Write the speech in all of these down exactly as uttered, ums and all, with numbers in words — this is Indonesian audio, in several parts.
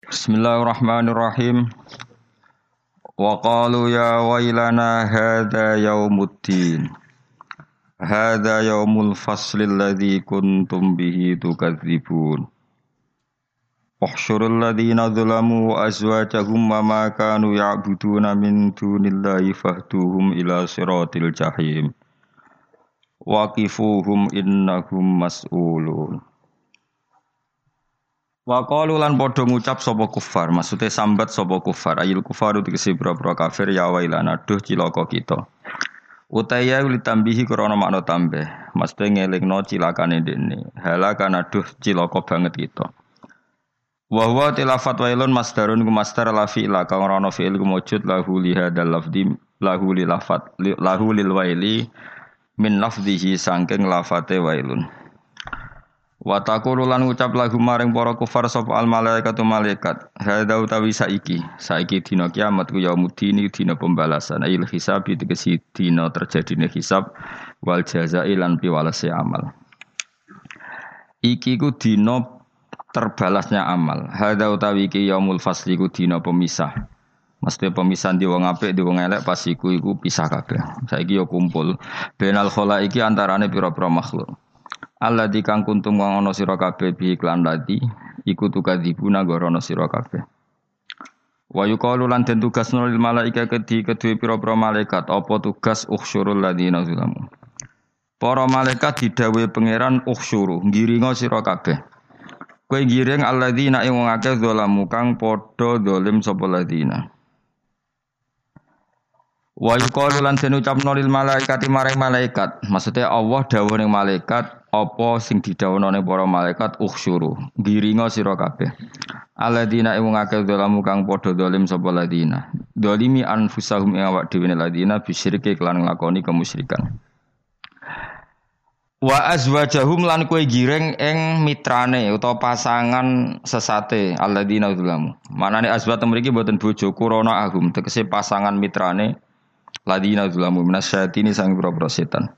Bismillahirrahmanirrahim. Wa qalu ya wailana hadza yaumuddin. Hadza yaumul fasli alladzi kuntum bihi tukadzibun. Uhsyurul ladzina zalamu wa azwajahum wa ma kanu ya'buduna min dunillahi fahduhum ila siratil jahim. Waqifuhum innahum mas'ulun. Wa qalu lan padha ngucap sapa kufar, maksude sambat sapa kufar, ayil kufaru tegese boro-boro kafir ya wailana duh cilaka kita. Utaya litambihi krana makna tambah, maksude ngelingno cilakane dene. Halakana duh cilaka banget kita. Wa huwa tilafat wailun masdarun ku masdar la fi'la kang ora ana fi'il ku mujud lahu li hadzal lafdhi lahu li lafat lahu lil waili min lafdhihi saking lafate wailun. Wa taqulu lan ngucap lagu maring para kufar sapa al malaikatu malaikat hadza utawi saiki saiki dina kiamat ku yaumuddin dina pembalasan il hisab tegesi dina terjadine hisab wal jazai lan piwalese amal iki ku dina terbalasnya amal hadza utawi iki yaumul fasli ku dina pemisah mesti pemisahan di wong apik di wong elek pas iku iku pisah kabeh saiki yo kumpul benal khalaiki antarane pira-pira makhluk alladzi kang kuntum wong ana sira kabeh bi iklan ladi iku tukadzibuna gorono sira kabeh wa yuqalu lan den tugasno lil malaika kedhi kedue pira-pira malaikat apa tugas ukhsyurul ladzina zalamu para malaikat didhawuhi pangeran ukhsyuru ngiringa sira kabeh kowe ngiring alladzina ing wong akeh zalamu kang padha zalim sapa ladzina wa yuqalu lan den ucapno lil malaikati maring malaikat maksude Allah dawuh ning malaikat apa sing didhawuhna ning para malaikat ukhsyuru ngiringa sira kabeh alladzina ing ngake zalamu kang padha zalim sapa ladina zalimi anfusahum ing awak dhewe ladina bisyirki kelan nglakoni kemusyrikan wa azwajahum lan kowe giring ing mitrane utawa pasangan sesate alladzina zalamu manane azwat mriki mboten bojo kurana ahum tegese pasangan mitrane ladina zalamu minasyatini sang boro-boro setan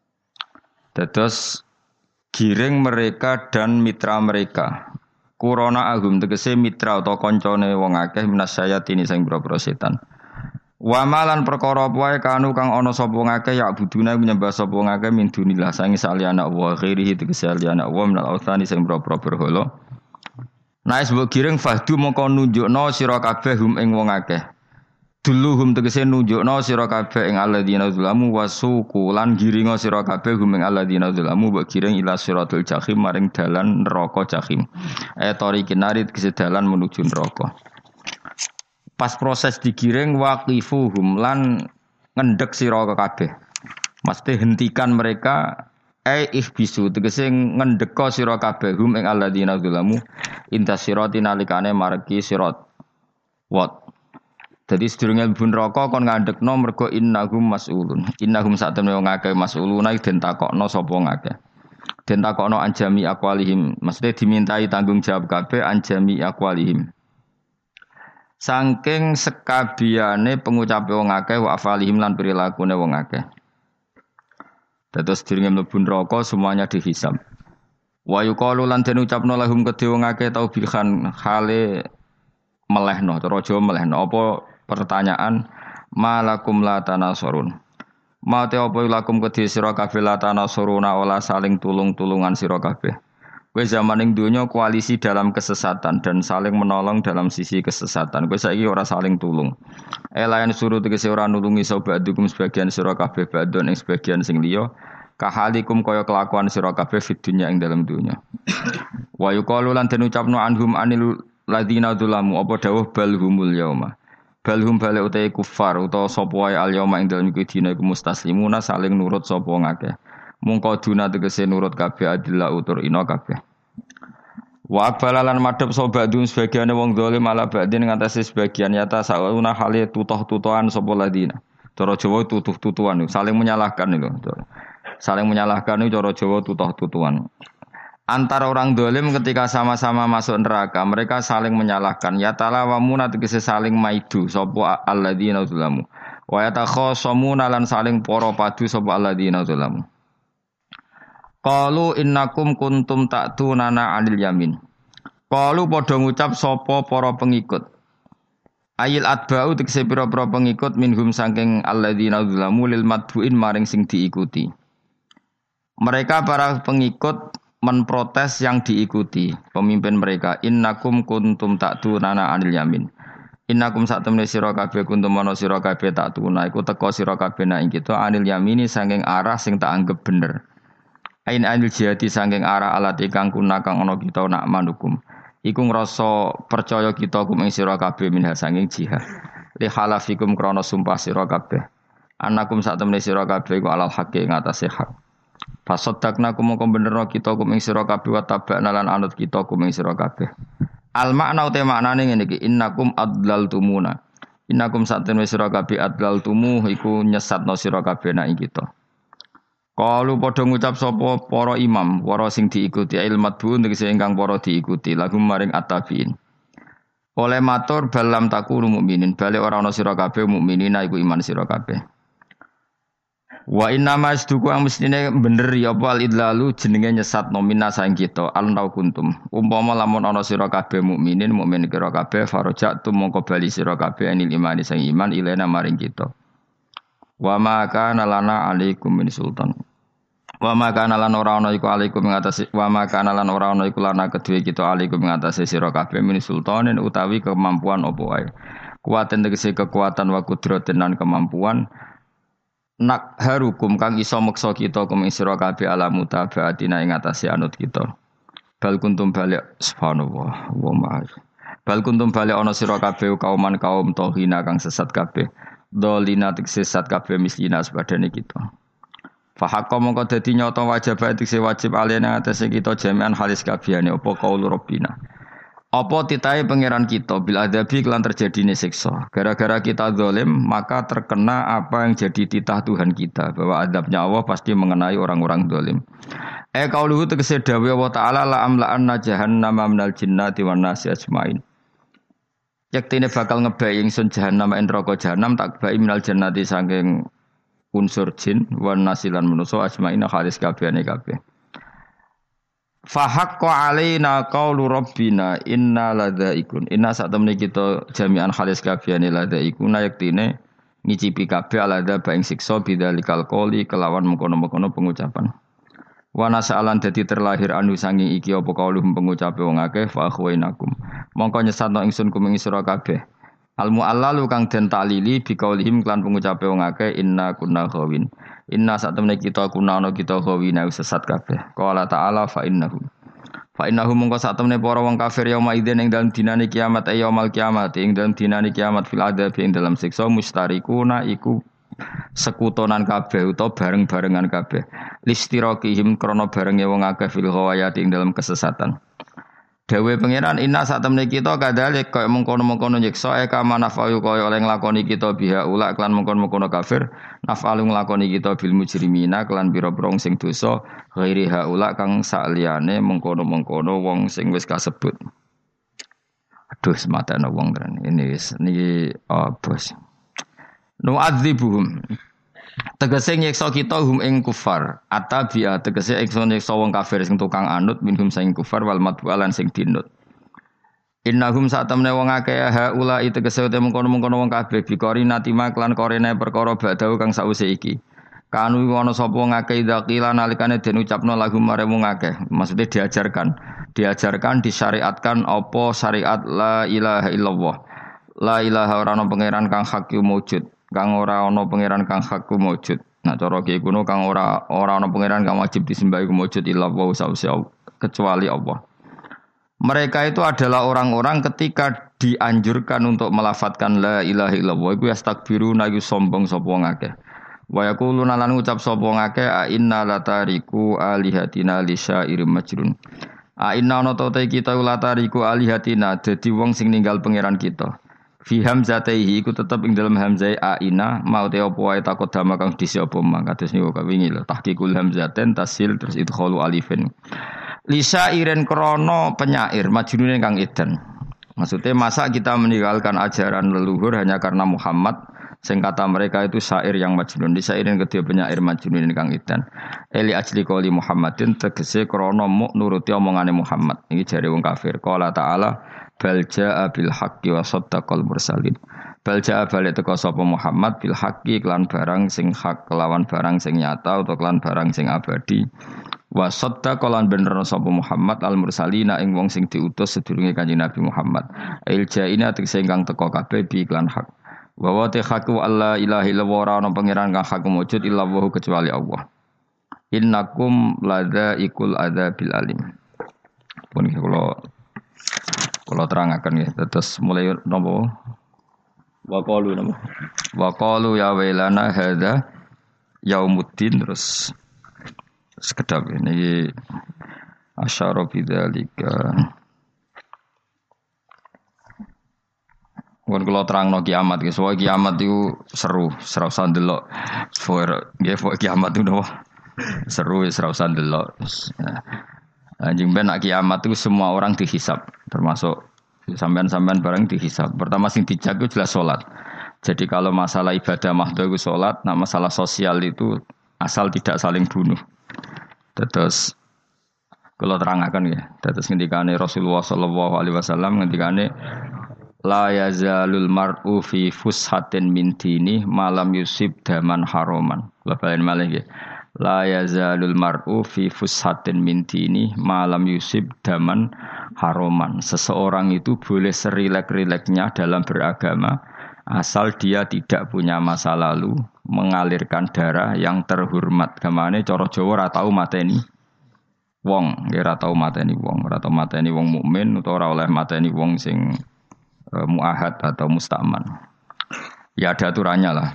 dados giring mereka dan mitra mereka. Kurona agum tegese mitra atau koncone wong akeh minasyayatini sing boro-boro setan. Wa malan perkara wae kanu kang ana sapa wong akeh ya buduna nyembah sapa wong akeh min dunillah sangi saliyane Allah ghairihi tegese saliyane Allah minal authani sing boro-boro berhala. Naes mbok giring fahdu mongko nunjukno sira kabeh hum ing wong akeh. Duluhum tegese nunjukno sira kabeh ing alladzina zalamu wasuku lan giringa sira kabeh hum ing alladzina zalamu mbok giring ila siratul jahim maring dalan neraka jahim. Eh tariqin nari tegese dalan menuju neraka. Pas proses digiring waqifuhum lan ngendhek sira kabeh. Mesti hentikan mereka eh ihbisu tegese ngendheka sira kabeh hum ing alladzina zalamu intasirati nalikane margi sirat. Wat Jadi sedurunge mlebu neraka kon ngandhekno mergo innahum mas'ulun. Innahum satemene wong akeh mas'uluna den takokno sapa ngakeh. Den takokno anjami aqwalihim, maksudnya dimintai tanggung jawab kabeh anjami aqwalihim. Saking sekabiane pengucape wong akeh wa afalihim lan prilakune wong akeh. Dados sedurunge mlebu neraka semuanya dihisab. Wa yuqalu lan den ucapno lahum kedhe wong akeh taubihan hale melehno, cara Jawa melehno apa pertanyaan malakum la tanasurun. Mate apa lakum kedhi sira kabeh la tanasuruna ola saling tulung-tulungan sira kabeh. Kowe zaman ning donya koalisi dalam kesesatan dan saling menolong dalam sisi kesesatan. Kowe saiki ora saling tulung. Elayan suruh tegese ora nulungi sapa dukum sebagian sira kabeh badon ing sebagian sing liya. Kahalikum kaya kelakuan sira kabeh fid dunya ing dalam donya. Wa yuqalu lan den ucapno anhum anil ladina dzulamu apa dawuh balhumul yauma balhum bale utahe kufar utawa sapa wae al yauma ing dalem iki dina iku mustaslimuna saling nurut sapa ngakeh mungko duna tegese nurut kabeh adillah utur ina kabeh wa balalan madhep sapa dun sebagiane wong zalim ala badin ngatasi sebagian yata sauna hale tutuh-tutuhan sapa ladina cara Jawa tutuh-tutuhan saling menyalahkan itu saling menyalahkan itu cara Jawa tutuh-tutuhan. Antara orang dolim ketika sama-sama masuk neraka mereka saling menyalahkan ya talawamuna tegese saling maidu sapa alladzina zalamu wa yatakhasamuna lan saling para padu sapa alladzina zalamu qalu innakum kuntum ta'tunana 'anil yamin Qalu padha ngucap sapa para pengikut. Ayil atba'u tekse pira-pira pengikut minhum saking alladzina zalamu lil madbuin maring sing diikuti. Mereka para pengikut menprotes yang diikuti pemimpin mereka. Innakum kuntum ta'tunana anil yamin. Innakum sak temne sira kabeh kuntum ana sira kabeh ta'tuna iku teka sira kabeh ing kita anil yamini saking arah sing tak anggap bener. Ain anil jihati saking arah alat ikang kuna kang ana kita nak manukum. Iku ngrasa percaya kita kum ing sira kabeh minha saking jihad. Li halafikum krana sumpah sira kabeh. Anakum sak temne sira kabeh iku alal haqqi ing atase hak. Fasaddaqna kum mongko benerno kita kum ing sira kabeh wa tabana lan anut kita kum ing sira kabeh. Al makna uta maknane ngene iki innakum adlaltumuna. Innakum sak temne sira kabeh adlaltumu iku nyesatno sira kabeh nak ing kita. Kalu padha ngucap sapa para imam, para sing diikuti ilmat bu tegese ingkang para diikuti lagu maring at-tabiin. Oleh matur balam takunu mukminin, bali ora ana sira kabeh mukminina iku iman sira kabeh. Wa inna masduku ang mestine bener ya apa al-idlalu jenenge nyesat nomina saing kita al-nau kuntum. Umpama lamun ana sira kabeh mukminin, mukmin kira kabeh farajat tu mongko bali sira kabeh anil imani sang iman ilena maring kita. Wa ma kana lana alaikum min sultan. Wa ma kana lan ora ana iku alaikum ing atase wa ma kana lan ora ana iku lana kedue kita alaikum ing atase sira kabeh min sultanin utawi kemampuan apa wae. Kuwaten tegese kekuatan wa kudratin lan kemampuan nak harukum kang iso meksa kita kum ing sira kabeh ala mutabaatina ing atase anut kita. Bal kuntum balik subhanallah wa ma. Bal kuntum balik ana sira kabeh kauman kaum tohina kang sesat kabeh. Dolina tekse sesat kabeh mislina sepadane kita. Fa hakka mongko dadi nyata wajib tekse wajib alena atase kita jami'an halis kabehane apa qaul rabbina. Apa titahe pangeran kita bil adabi kelan terjadine siksa. Gara-gara kita zalim maka terkena apa yang jadi titah Tuhan kita bahwa adabnya Allah pasti mengenai orang-orang zalim. Eh qauluhu tegese dawuh Allah taala la amla'anna jahannama minal jinnati wan nasi ajmain. Yaktine bakal ngebai ingsun jahanam ing neraka jahanam tak bai minal jannati saking unsur jin wan nasilan manusa ajmaina halis kabehane kabeh. Fa haqqo alaina qaulu rabbina inna ladzaikun. Inna sak temne kita jami'an halis kabehane ladzaikun yaktine ngicipi kabeh alada baing siksa bidzalikal qouli kelawan mengkono-mengkono pengucapan. Wa nasalan dadi terlahir anu sanging iki apa kauluhum pengucape wong akeh fa akhwainakum. Mongko nyesatno ingsun kuming sira kabeh. Al mu'allalu kang den taklili bi kaulihim klan pengucape wong akeh inna kunna khawin. Inna sak temne kita kuna ana kita khawina sesat kabeh. Qala ta'ala fa innahum. Fa innahum mongko sak temne para wong kafir yauma idzin ing dalem dinane kiamat ay yaumul kiamat ing dalem dinane kiamat fil adab ing dalem siksa mustarikuna iku sekutonan kabeh utawa bareng-barengan kabeh listiraqihim krana barenge wong akeh fil ghawayati ing dalam kesesatan. Dewe pangeran inna sak temne kita kadhalik kaya mengkono-mengkono nyiksa e kama nafayu kaya oleh nglakoni kita biha ula klan mengkono-mengkono kafir nafalu nglakoni kita bil mujrimina klan pira-pira sing dosa ghairi haula kang sakliyane mengkono-mengkono wong sing wis kasebut. Aduh sematane wong tenan ini wis niki oh, bos. Nu'adzibuhum tegese nyiksa kita hum ing kufar atabiya tegese nyiksa wong kafir sing tukang anut minhum sing kufar wal madwalan sing dinut innahum satamne wong akeh haula tegese te mengkono-mengkono wong kabeh bikori natima klan korene perkara badau kang sause iki kanu ana sapa wong akeh dzakila nalikane den ucapno lagu mare wong akeh maksudnya diajarkan diajarkan disyariatkan apa syariat la ilaha illallah la ilaha ora ana pangeran kang hak wujud kang ora ana pangeran kang hak wujud. Nah cara ki kuno kang ora ora ana pangeran kang wajib disembah iku wujud illa wa sause kecuali Allah. Mereka itu adalah orang-orang ketika dianjurkan untuk melafadzkan la ilaha illallah iku yastakbiruna iku sombong sapa wong akeh. Wa yaquluna lan ngucap sapa wong akeh a inna latariku alihatina li syairim majrun. A inna ana ta kita latariku alihatina dadi wong sing ninggal pangeran kita. Fi hamzataihi iku tetep ing dalam hamzai aina mau te apa wae takut dama kang disi apa mang kados niku kawingi lho tahqiqul hamzaten tasil terus idkhalu alifin lisa iren krana penyair majnune kang edan maksudnya masa kita meninggalkan ajaran leluhur hanya karena Muhammad Sing kata mereka itu syair yang majnun. Di syairin kedua penyair majnun kang idan. Eli ajli qoli Muhammadin tegese krana muk nuruti omongane Muhammad. Iki jare wong kafir. Qala ta'ala bal jaa bil haqqi wa saddaqal mursalin. Bal jaa balik teka sapa Muhammad bil haqqi kelan barang sing hak kelawan barang sing nyata utawa kelan barang sing abadi. Wa saddaqal bener sapa Muhammad al mursalina ing wong sing diutus sedurunge Kanjeng Nabi Muhammad. Il jaina tegese ingkang teka kabeh bi iklan hak. Wa wa haqqu alla ilaha illallah ora ana pangeran kang hak wujud illa wa kecuali Allah. Innakum ladzaikul adzabil alim. Pun kula kula terangaken nggih. Terus mulai napa? Wa qalu napa? Wa qalu ya wailana hadza yaumuddin terus sekedap ini asyara bidzalika. Mun kula terangno kiamat guys, wae kiamat itu seru, seru usah ndelok. For nggih kiamat itu napa? Seru wis ora usah ndelok. Anjing ben nak kiamat itu semua orang dihisab, termasuk sampean-sampean bareng dihisab. Pertama sing dijak itu jelas salat. Jadi kalau masalah ibadah mahdhu itu salat, nah masalah sosial itu asal tidak saling bunuh. Terus kalau terangaken ya, terus ngendikane Rasulullah sallallahu alaihi wasallam ngendikane la yazalul mar'u fi fushatin min dini malam yusib daman haroman. Labain malih nggih. La yazalul mar'u fi fushatin min dini malam yusib daman haroman. Seseorang itu boleh serilek-rileknya dalam beragama asal dia tidak punya masa lalu mengalirkan darah yang terhormat. Kamane cara Jawa ora tau mateni wong, ora tau mateni wong, ora tau mateni wong mukmin utawa ora oleh mateni wong sing muahad atau musta'man. Ya ada aturannya lah.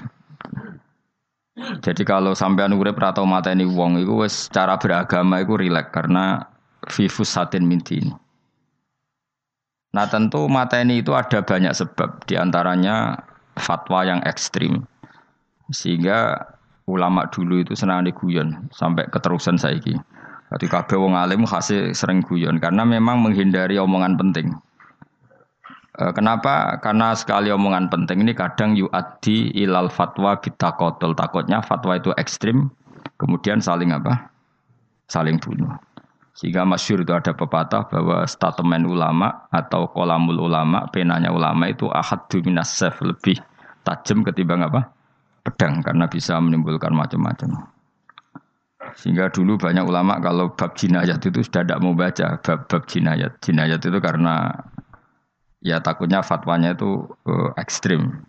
Jadi kalau sampean urip ra tau mateni wong iku wis cara beragama iku rileks karena fifus satin mintin. Nah tentu mateni itu ada banyak sebab, di antaranya fatwa yang ekstrim. Sehingga ulama dulu itu senang diguyon sampai keterusan saiki. Jadi kabeh wong alim khase sering guyon karena memang menghindari omongan penting. Kenapa? Karena sekali omongan penting ini kadang yu'addi ilal fatwa bitaqatul. Takutnya fatwa itu ekstrim, kemudian saling apa? Saling bunuh. Sehingga masyhur itu ada pepatah bahwa statement ulama atau kolamul ulama, penanya ulama itu ahaddu minas sayf, lebih tajam ketimbang apa? Pedang, karena bisa menimbulkan macam-macam. Sehingga dulu banyak ulama kalau bab jinayat itu sudah tidak mau baca bab-bab jinayat. Jinayat itu karena ya takutnya fatwanya itu uh, ekstrim.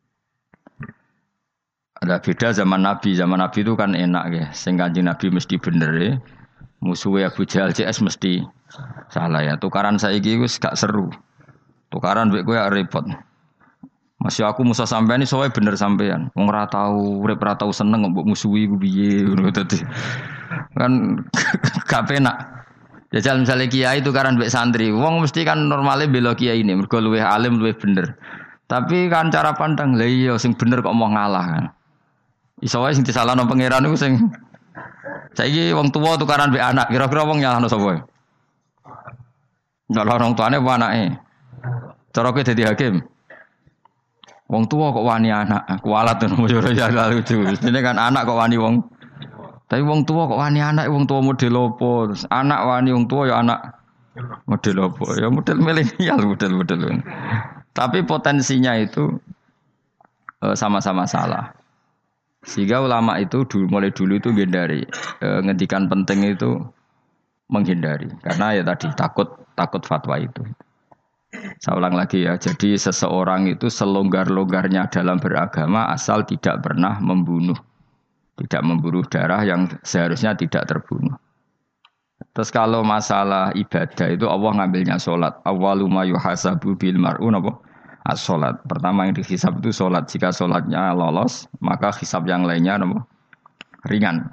Ada beda zaman Nabi. Zaman Nabi itu kan enak ya. Sing Kanjeng Nabi mesti bener ya. Musuhnya Abu Jahal C S mesti salah ya. Tukaran saiki wis gak seru. Tukaran mbek kowe repot. Masih aku musuh sampean iki sowe bener sampean. Wong ora tau urip ora tau seneng mbok musuhi ku piye ngono dadi. Kan gak penak. Jajal misalnya kiai itu karena mbek santri, wong mesti kan normalnya bela kiai ini, mergo luwih alim luwih bener. Tapi kan cara pandang, lah iya sing bener kok mau ngalah kan. Iso wae sing disalahno pangeran iku sing saiki wong tuwa tukaran mbek anak, kira-kira wong nyalahno sapa? Nyalahno wong tuane apa anake? Cara kowe dadi hakim. Wong tuwa kok wani anak, kualat ngono yo ya lucu. Mestine kan anak kok wani wong. Tapi wong tua kok wani anak, wong tua model opo? Anak wani wong tua ya anak model opo? Ya model milenial, model-model. Tapi potensinya itu e, sama-sama salah. Sehingga ulama itu dulu, mulai dulu itu menghindari e, ngendikan penting itu menghindari. Karena ya tadi takut takut fatwa itu. Saya ulang lagi ya. Jadi seseorang itu selonggar-longgarnya dalam beragama asal tidak pernah membunuh. Tidak memburu darah yang seharusnya tidak terbunuh. Terus kalau masalah ibadah itu Allah ngambilnya sholat. Awwalu ma yuhasabu bil mar'u napa? As-sholat. Pertama yang dihisab itu sholat. Jika sholatnya lolos, maka hisab yang lainnya napa? Ringan.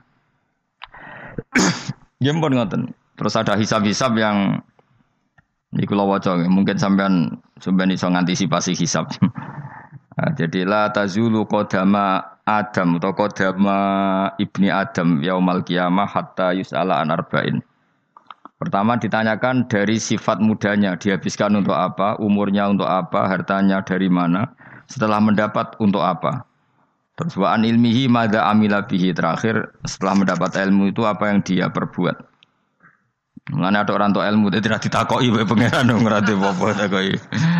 Nggih ngoten. Terus ada hisab-hisab yang iku lho waca mungkin sampean sampean iso ngantisipasi hisab. Nah, jadi la tazulu qadama Adam atau qadama ibni Adam yaumal qiyamah hatta yus'ala an arba'in. Pertama ditanyakan dari sifat mudanya, dihabiskan untuk apa, umurnya untuk apa, hartanya dari mana, setelah mendapat untuk apa. Terus wa an ilmihi madza amila bihi, terakhir setelah mendapat ilmu itu apa yang dia perbuat. Mulane ada orang tua ilmu tidak ditakoki wae pangeran ora ate apa takoki.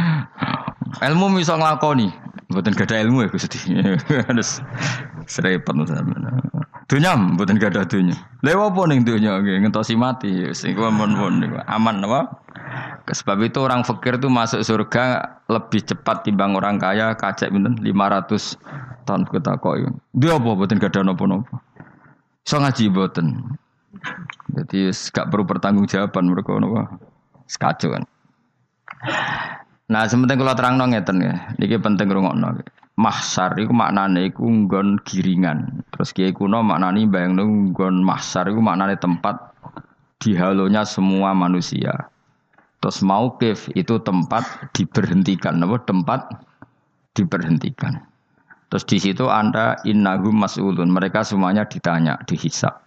Ilmu iso nglakoni, mboten gadah ilmu ya Gusti. Terus serepet sampeyan. Dunya mboten gadah dunya. Lha opo ning dunya nggih ngentosi mati sing pun-pun niku aman apa? Sebab itu orang fakir itu masuk surga lebih cepat timbang orang kaya kacek pinten lima ratus tahun ketakoki. Dia apa mboten gadah napa-napa. Iso ngaji mboten. Jadi gak perlu pertanggungjawaban mereka napa. Sekacau kan. Nah, sementing kula terangno ngeten ya. Niki penting rungokno. Mahsyar iku maknane iku nggon giringan. Terus kiai kuno maknane bayangno nggon mahsyar iku maknane tempat dihalonya semua manusia. Terus mauqif itu tempat diberhentikan, apa tempat diberhentikan. Terus di situ Anda innahum mas'ulun, mereka semuanya ditanya, dihisab.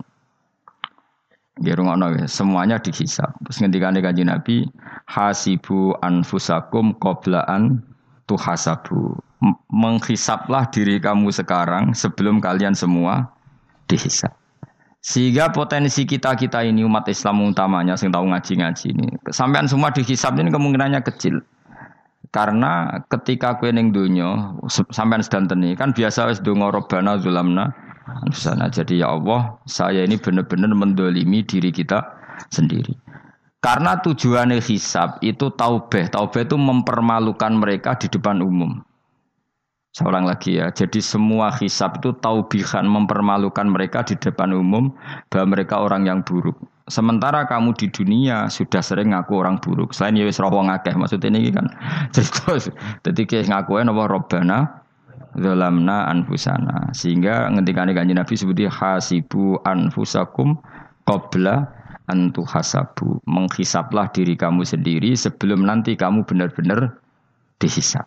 Nggih semuanya dihisab. Terus ngendikane Kanjeng Nabi, hasibu anfusakum qabla an tuhasabu. Menghisablah diri kamu sekarang sebelum kalian semua dihisab. Sehingga potensi kita-kita ini umat Islam utamanya sing tahu ngaji-ngaji ini, sampean semua dihisab ini kemungkinannya kecil. Karena ketika kowe ning donya sampean sedantene kan biasa wis donga Rabbana zulamna anfusana. Jadi ya Allah, saya ini benar-benar mendolimi diri kita sendiri. Karena tujuannya hisab itu taubah. Taubah itu mempermalukan mereka di depan umum. Saya ulang lagi ya. Jadi semua hisab itu taubihan, mempermalukan mereka di depan umum bahwa mereka orang yang buruk. Sementara kamu di dunia sudah sering ngaku orang buruk. Selain ya wis roh wong akeh. Maksudnya ini kan cerita. Jadi kayak ngakuin apa Rabbana zalamna anfusana. Sehingga ngendikane Kanjeng Nabi sebuti hasibu anfusakum qabla an tuhasabu. Menghisablah diri kamu sendiri sebelum nanti kamu benar-benar dihisab.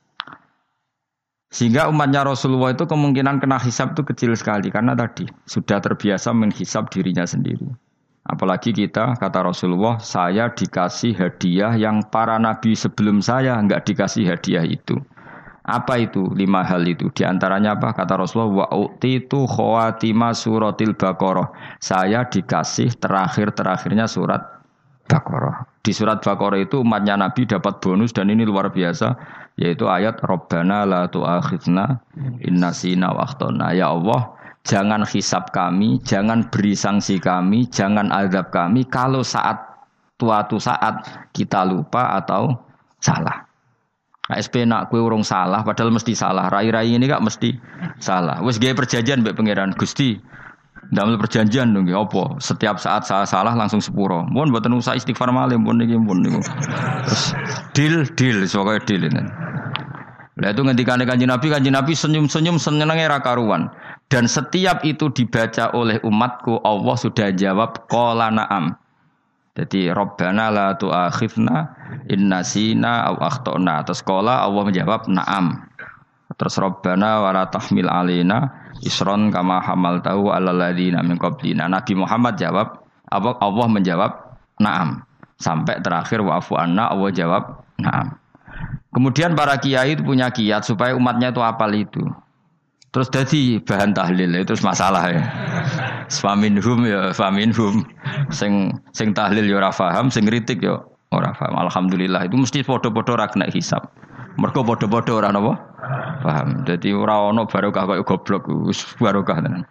Sehingga umatnya Rasulullah itu kemungkinan kena hisab itu kecil sekali. Karena tadi sudah terbiasa menghisab dirinya sendiri. Apalagi kita, kata Rasulullah, saya dikasih hadiah yang para nabi sebelum saya enggak dikasih hadiah itu. Apa itu? Lima hal itu. Di antaranya apa? Kata Rasulullah, wa utitu khawatima suratil Baqarah. Saya dikasih terakhir-terakhirnya surat Baqarah. Di surat Baqarah itu umatnya Nabi dapat bonus dan ini luar biasa, yaitu ayat Rabbana la tu'akhidna innasina wa akhtana. Ya Allah, jangan hisab kami, jangan beri sanksi kami, jangan azab kami kalau saat suatu saat kita lupa atau salah. K S P nak kue urung salah, padahal mesti salah. Rai-rai ini gak mesti salah. Wes gawe perjanjian mbek pangeran Gusti. Ndamel perjanjian dong, apa? Setiap saat saya salah langsung sepuro. Mohon mboten usah istighfar malih, mohon niki mohon niku. Terus deal deal, soalnya deal ini. Lah itu ngendikane Kanjeng Nabi, Kanjeng Nabi senyum-senyum senenge ra karuan. Dan setiap itu dibaca oleh umatku, Allah sudah jawab qala na'am. Jadi Rabbana la tu'akhidna in nasina aw akhtana. Terus qala Allah menjawab na'am. Terus Rabbana wa la tahmil alaina isron kama hamaltahu alal ladzina min qablina. Nabi Muhammad jawab, Allah menjawab na'am. Sampai terakhir wa'fu anna, Allah jawab na'am. Kemudian para kiai itu punya kiat supaya umatnya itu hafal itu. Terus jadi bahan tahlil itu masalah ya. Faminhum ya faminhum. Sing sing tahlil ya ora paham, sing kritik ya ora paham. Alhamdulillah itu mesti padha-padha ra kena hisab. Mergo padha-padha ora napa? Paham. Dadi ora ana barokah kaya goblok wis barokah tenan.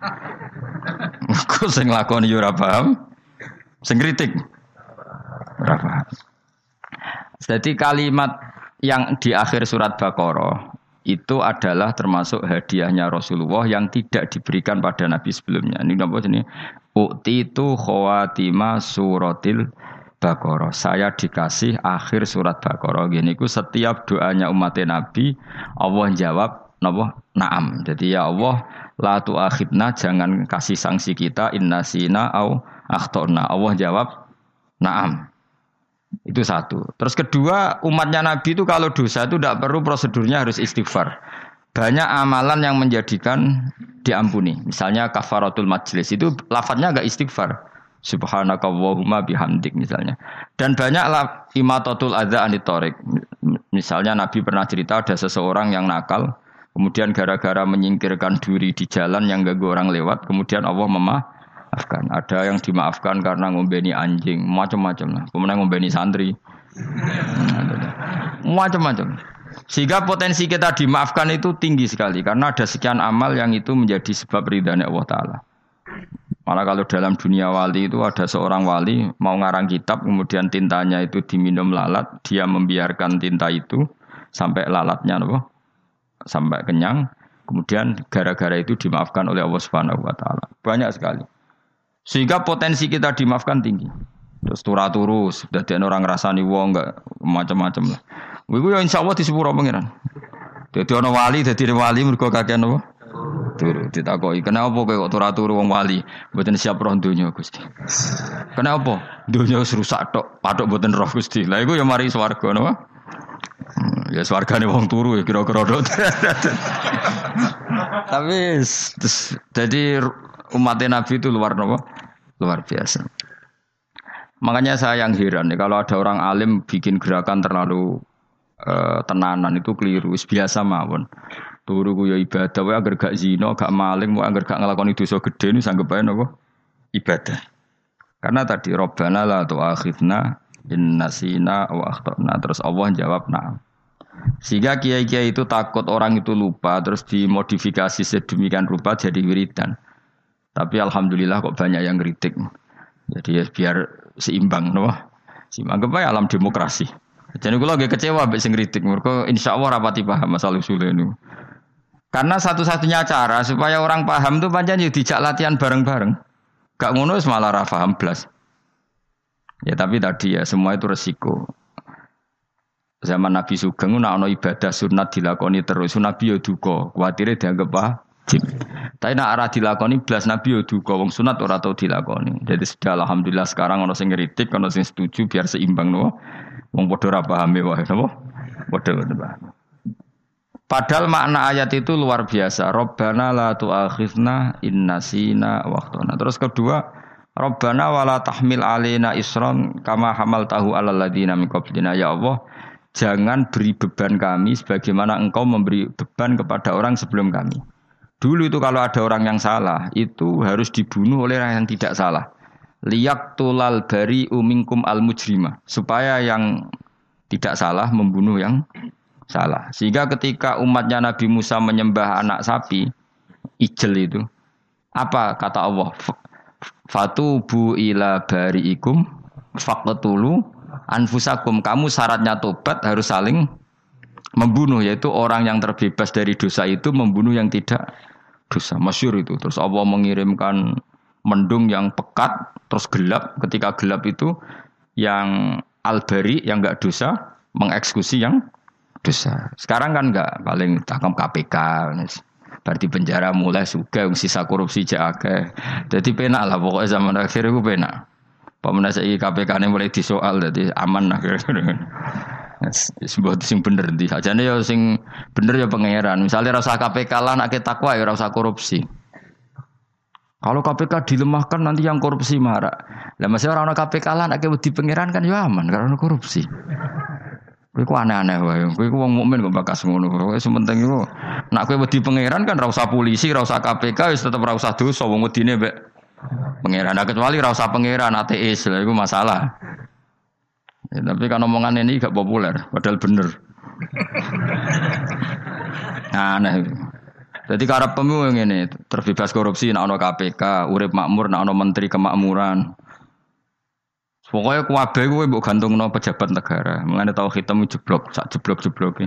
Mergo sing lakoni ya ora paham, sing kritik ora paham. Jadi kalimat yang di akhir surat Baqarah itu adalah termasuk hadiahnya Rasulullah yang tidak diberikan pada Nabi sebelumnya. Ini apa ini? Ukti itu khawatima suratil Baqarah. Saya dikasih akhir surat Baqarah. Gini ku setiap doanya umat Nabi Allah jawab napa? Naam. Jadi ya Allah la tu'akhidna, jangan kasih sanksi kita innasina au akhtona. Allah jawab naam. Itu satu. Terus kedua, umatnya Nabi itu kalau dosa itu tidak perlu prosedurnya harus istighfar. Banyak amalan yang menjadikan diampuni. Misalnya kafaratul majlis itu lafadznya enggak istighfar. Subhanakallahumma bihamdik misalnya. Dan banyak imatatul adza anit thoriq. Misalnya Nabi pernah cerita ada seseorang yang nakal Kemudian gara-gara menyingkirkan duri di jalan yang ganggu orang lewat, kemudian Allah memaafkan. Ada yang dimaafkan karena ngombeni anjing, macam-macam lah. Kemudian ngombeni santri, macam-macam. Sehingga potensi kita dimaafkan itu tinggi sekali karena ada sekian amal yang itu menjadi sebab ridhanya Allah Ta'ala. Malah kalau dalam dunia wali itu ada seorang wali mau ngarang kitab kemudian tintanya itu diminum lalat, dia membiarkan tinta itu sampai lalatnya apa? Sampai kenyang, kemudian gara-gara itu dimaafkan oleh Allah Subhanahu wa taala. Banyak sekali. Sehingga potensi kita dimaafkan tinggi. Terus turu-turu, dadi orang ngrasani wong enggak macam-macam lah. Iku ya insyaallah di sepuro pangeran. Dadi ana wali, dadi wali mergo kakean apa? Turu ditakoki, "Kenapa kowe kok turu-turu wong wali? Mboten siap roh donya, Gusti." "Kenapa? Donya wis rusak tok, patok mboten roh, Gusti." Lah iku ya mari swarga napa? Ya swargane wong turu ya kira-kira tok. Tapi jadi umat Nabi itu luar napa? Luar biasa. Makanya saya yang heran nih kalau ada orang alim bikin gerakan terlalu uh, tenanan itu keliru, biasa mawon. Turu ku ya ibadah, wae agar gak zina, gak maling, wae agar gak nglakoni dosa gedhe niku sanggep ae napa? Ibadah. Karena tadi Rabbana la tu'akhidna in nasina wa akhtana, terus Allah jawab na'am. Sehingga kiai-kiai itu takut orang itu lupa terus dimodifikasi sedemikian rupa jadi wiridan. Tapi alhamdulillah kok banyak yang kritik. Jadi ya biar seimbang, no? Seimbang apa alam demokrasi. Jadi kalau lagi kecewa ambek sing kritik, mergo insyaallah rapati paham masalah usul ini. Karena satu-satunya cara supaya orang paham itu pancen yo dijak latihan bareng-bareng. Gak ngono wis malah ra paham blas. Ya tapi tadi ya semua itu resiko. Zaman Nabi Sugeng nek ana ibadah sunat dilakoni terus, Nabi yo duka, kuwatire dianggap wajib. Tapi nek ora dilakoni blas Nabi yo duka, wong sunat ora tau dilakoni. Jadi sudah alhamdulillah sekarang ana sing ngritik, ana sing setuju biar seimbang no. Wong padha ora pahame wae napa? Padha paham. Padahal makna ayat itu luar biasa. Rabbana la tu'akhidna in nasina wa akhtana. Terus kedua, Rabbana wala tahmil alaina isran kama hamaltahu alal ladina min qablina. Ya Allah, jangan beri beban kami sebagaimana Engkau memberi beban kepada orang sebelum kami. Dulu itu kalau ada orang yang salah, itu harus dibunuh oleh orang yang tidak salah. Liyaqtulal bari'u minkum al-mujrima. Supaya yang tidak salah membunuh yang salah. Sehingga ketika umatnya Nabi Musa menyembah anak sapi, ijel itu, apa kata Allah? Fatubu ila bari'ikum faqtulu anfusakum. Kamu syaratnya tobat harus saling membunuh, yaitu orang yang terbebas dari dosa itu membunuh yang tidak dosa. Masyhur itu. Terus Allah mengirimkan mendung yang pekat terus gelap. Ketika gelap itu yang al-bari yang enggak dosa mengeksekusi yang dosa. Sekarang kan enggak, paling takam K P K. Berarti penjara mulai suka sisa korupsi jake. Jadi penak lah pokoknya zaman akhir itu penak. Pemenang saya K P K-nya mulai disoal, jadi aman lah. Sebuah sing bener di saja nih ya sing bener ya pangeran. Misalnya rasa K P K lah nak takwa ya rasa korupsi. Kalau K P K dilemahkan nanti yang korupsi marah. Lah masih orang K P K lah nak di pangeran kan ya aman karena korupsi. Kowe ku aneh-aneh wae. Kowe ku wong mukmin kok bakas ngono. Kowe sementing iku nak kowe wedi pangeran kan ra usah polisi, ra usah K P K wis tetep ra usah dosa wong wedine mbek pangeran. Nah, kecuali ra usah pangeran ateis, lha iku masalah. Ya, tapi kan omongan ini gak populer, padahal bener. Nah, aneh. Jadi karep pemilu ngene, terbebas korupsi nek ana K P K, urip makmur nek ana menteri kemakmuran. Pokoknya kuwabe kowe mbok gantungno pejabat negara. Mengane tau hitam jeblok, sak jeblok-jebloke.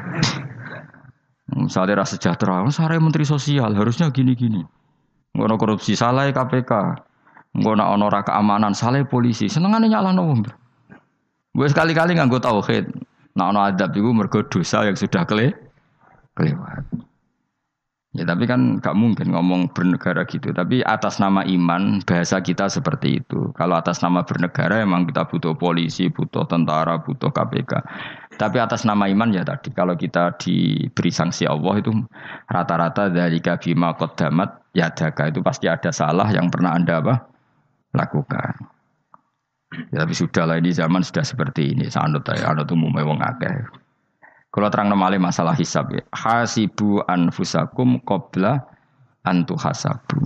Misalnya rasa sejahtera, sare menteri sosial harusnya gini-gini. Ngono korupsi salah K P K. Ngono ana ora keamanan salah polisi. Senengane nyalahno wong. Gue sekali-kali nganggo tauhid. Nek ana adab iku mergo dosa yang sudah kele kelewat. Ya tapi kan gak mungkin ngomong bernegara gitu. Tapi atas nama iman bahasa kita seperti itu. Kalau atas nama bernegara emang kita butuh polisi, butuh tentara, butuh K P K. Tapi atas nama iman ya tadi. Kalau kita diberi sanksi Allah itu rata-rata dari bima qaddamat yadaka itu pasti ada salah yang pernah Anda apa? Lakukan. Ya, tapi sudah lah ini zaman sudah seperti ini. Sanut ya, anut umumnya wong akeh. Kalau terang malih masalah hisab ya. Hasibu anfusakum qabla antu hasabu.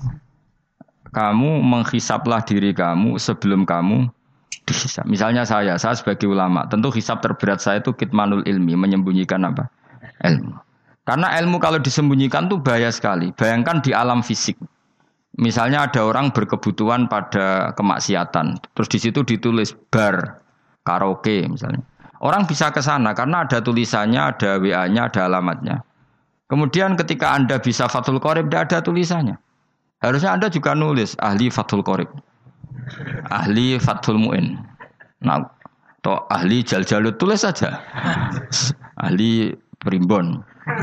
Kamu menghisaplah diri kamu sebelum kamu dihisap. Misalnya saya, saya sebagai ulama, tentu hisap terberat saya itu kitmanul ilmi, menyembunyikan apa? Ilmu. Karena ilmu kalau disembunyikan itu bahaya sekali. Bayangkan di alam fisik. Misalnya ada orang berkebutuhan pada kemaksiatan, terus di situ ditulis bar, karaoke misalnya. Orang bisa ke sana karena ada tulisannya, ada W A-nya, ada alamatnya. Kemudian ketika Anda bisa Fathul Qorib, tidak ada tulisannya. Harusnya Anda juga nulis ahli Fathul Qorib, ahli Fathul Mu'in, nah, atau ahli Jaljalut, tulis saja. Ahli Primbon.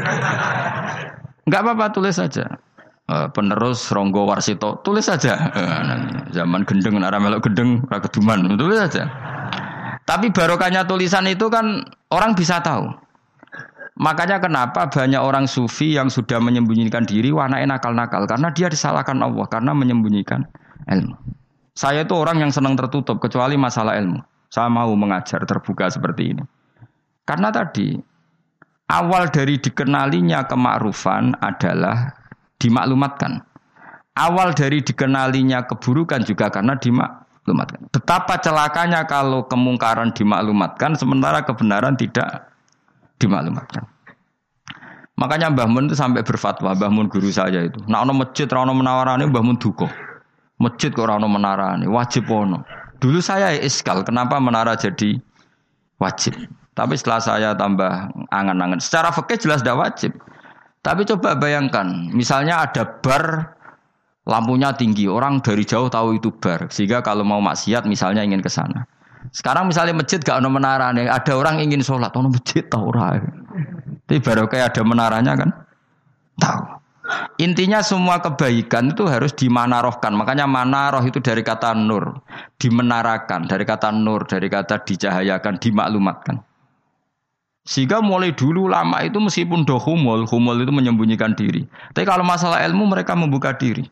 Enggak apa-apa, tulis saja. Penerus Ronggo Warsito, tulis saja. Zaman gendeng, arah melok gendeng, rakeduman, tulis saja. Tapi barokahnya tulisan itu kan orang bisa tahu. Makanya kenapa banyak orang sufi yang sudah menyembunyikan diri, wanake nakal-nakal. Karena dia disalahkan Allah, karena menyembunyikan ilmu. Saya itu orang yang senang tertutup, kecuali masalah ilmu. Saya mau mengajar terbuka seperti ini. Karena tadi, awal dari dikenalinya kemakrufan adalah dimaklumatkan. Awal dari dikenalinya keburukan juga karena dimaklumatkan. Betapa celakanya kalau kemungkaran dimaklumatkan sementara kebenaran tidak dimaklumatkan. Makanya Mbah Mun itu sampai berfatwa, Mbah Mun guru saya itu. Nek ana masjid ra ono menawarane Mbah Mun duka. Masjid kok ora ono menarane, wajib ono. Dulu saya iskal, kenapa menara jadi wajib? Tapi setelah saya tambah angan-angan, secara fikih jelas tidak wajib. Tapi coba bayangkan, misalnya ada bar lampunya tinggi, orang dari jauh tahu itu bar. Sehingga kalau mau maksiat misalnya ingin ke sana. Sekarang misalnya masjid gak ada menaranya, ada orang ingin sholat, ada masjid tahu orang. Tapi baru kayak ada menaranya kan? Tahu. Intinya semua kebaikan itu harus dimanarohkan. Makanya manaroh itu dari kata nur. Dimenarakan, dari kata nur, dari kata dicahayakan, dimaklumatkan. Sehingga mulai dulu lama itu meskipun do humul, humul itu menyembunyikan diri. Tapi kalau masalah ilmu mereka membuka diri.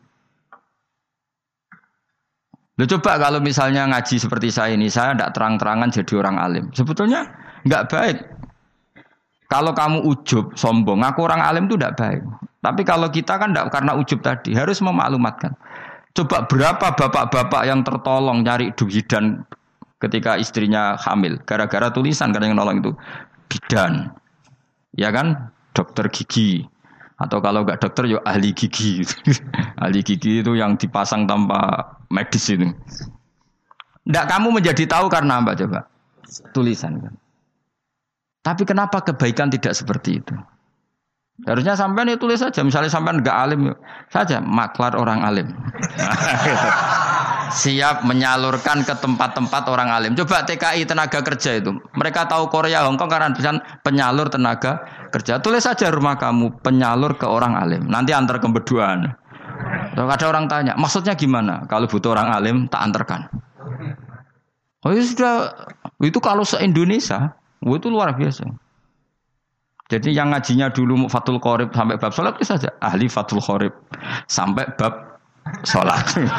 Loh coba kalau misalnya ngaji seperti saya ini, saya tidak terang-terangan jadi orang alim. Sebetulnya enggak baik. Kalau kamu ujub, sombong, ngaku orang alim itu tidak baik. Tapi kalau kita kan tidak karena ujub tadi, harus memaklumatkan. Coba berapa bapak-bapak yang tertolong nyari bidan ketika istrinya hamil. Gara-gara tulisan, karena yang nolong itu bidan. Ya kan? Dokter gigi. Atau kalau enggak dokter, ya ahli gigi. Ahli gigi itu yang dipasang tanpa medis itu. Enggak, kamu menjadi tahu karena apa coba? Tulisan kan. Tapi kenapa kebaikan tidak seperti itu? Harusnya sampean ya tulis saja. Misalnya sampean enggak alim saja, maklar orang alim. Siap menyalurkan ke tempat-tempat orang alim. Coba T K I tenaga kerja itu. Mereka tahu Korea, Hongkong karena tulisan penyalur tenaga kerja. Tulis saja rumah kamu penyalur ke orang alim. Nanti antar ke berduaan. Kalau ada orang tanya, maksudnya gimana? Kalau butuh orang alim, tak antarkan. Oh ya sudah, itu kalau se-Indonesia, oh, itu luar biasa. Jadi yang ngajinya dulu Fathul Qorib sampai bab sholat itu saja. Ahli Fathul Qorib sampai bab sholat.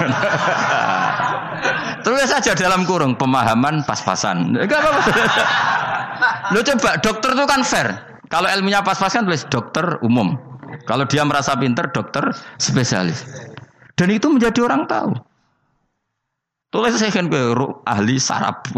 Terus saja dalam kurung pemahaman pas-pasan. Enggak apa-apa. Lo coba dokter itu kan fair. Kalau ilmunya pas-pasan tulis dokter umum. Kalau dia merasa pinter dokter spesialis. Dan itu menjadi orang tahu. Tulis saya kan ke ahli saraf.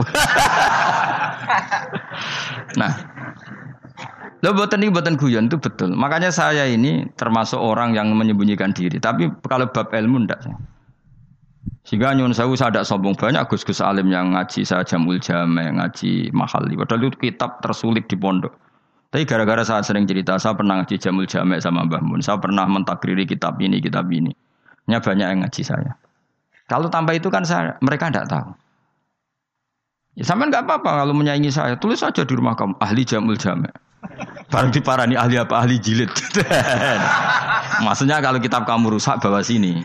Nah, lo boten ini boten guyon itu betul. Makanya saya ini termasuk orang yang menyembunyikan diri. Tapi kalau bab ilmu ndak. Sehingga nyun sewu saya tidak sombong, banyak gus-gus alim yang ngaji saya Jamul Jame, ngaji Mahali. Padahal itu kitab tersulit di pondok. Tapi gara-gara saya sering cerita, saya pernah ngaji Jamul Jame sama Mbah Mun. Saya pernah mentakriri kitab ini, kitab ini. Nya banyak yang ngaji saya. Kalau tanpa itu kan saya, mereka tidak tahu. Ya sampean enggak apa-apa kalau menyaingi saya, tulis saja di rumah kamu ahli Jamul Jame. Barang diparani ahli apa? Ahli jilid. Maksudnya kalau kitab kamu rusak bawa sini.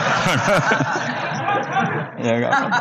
Ya enggak apa-apa.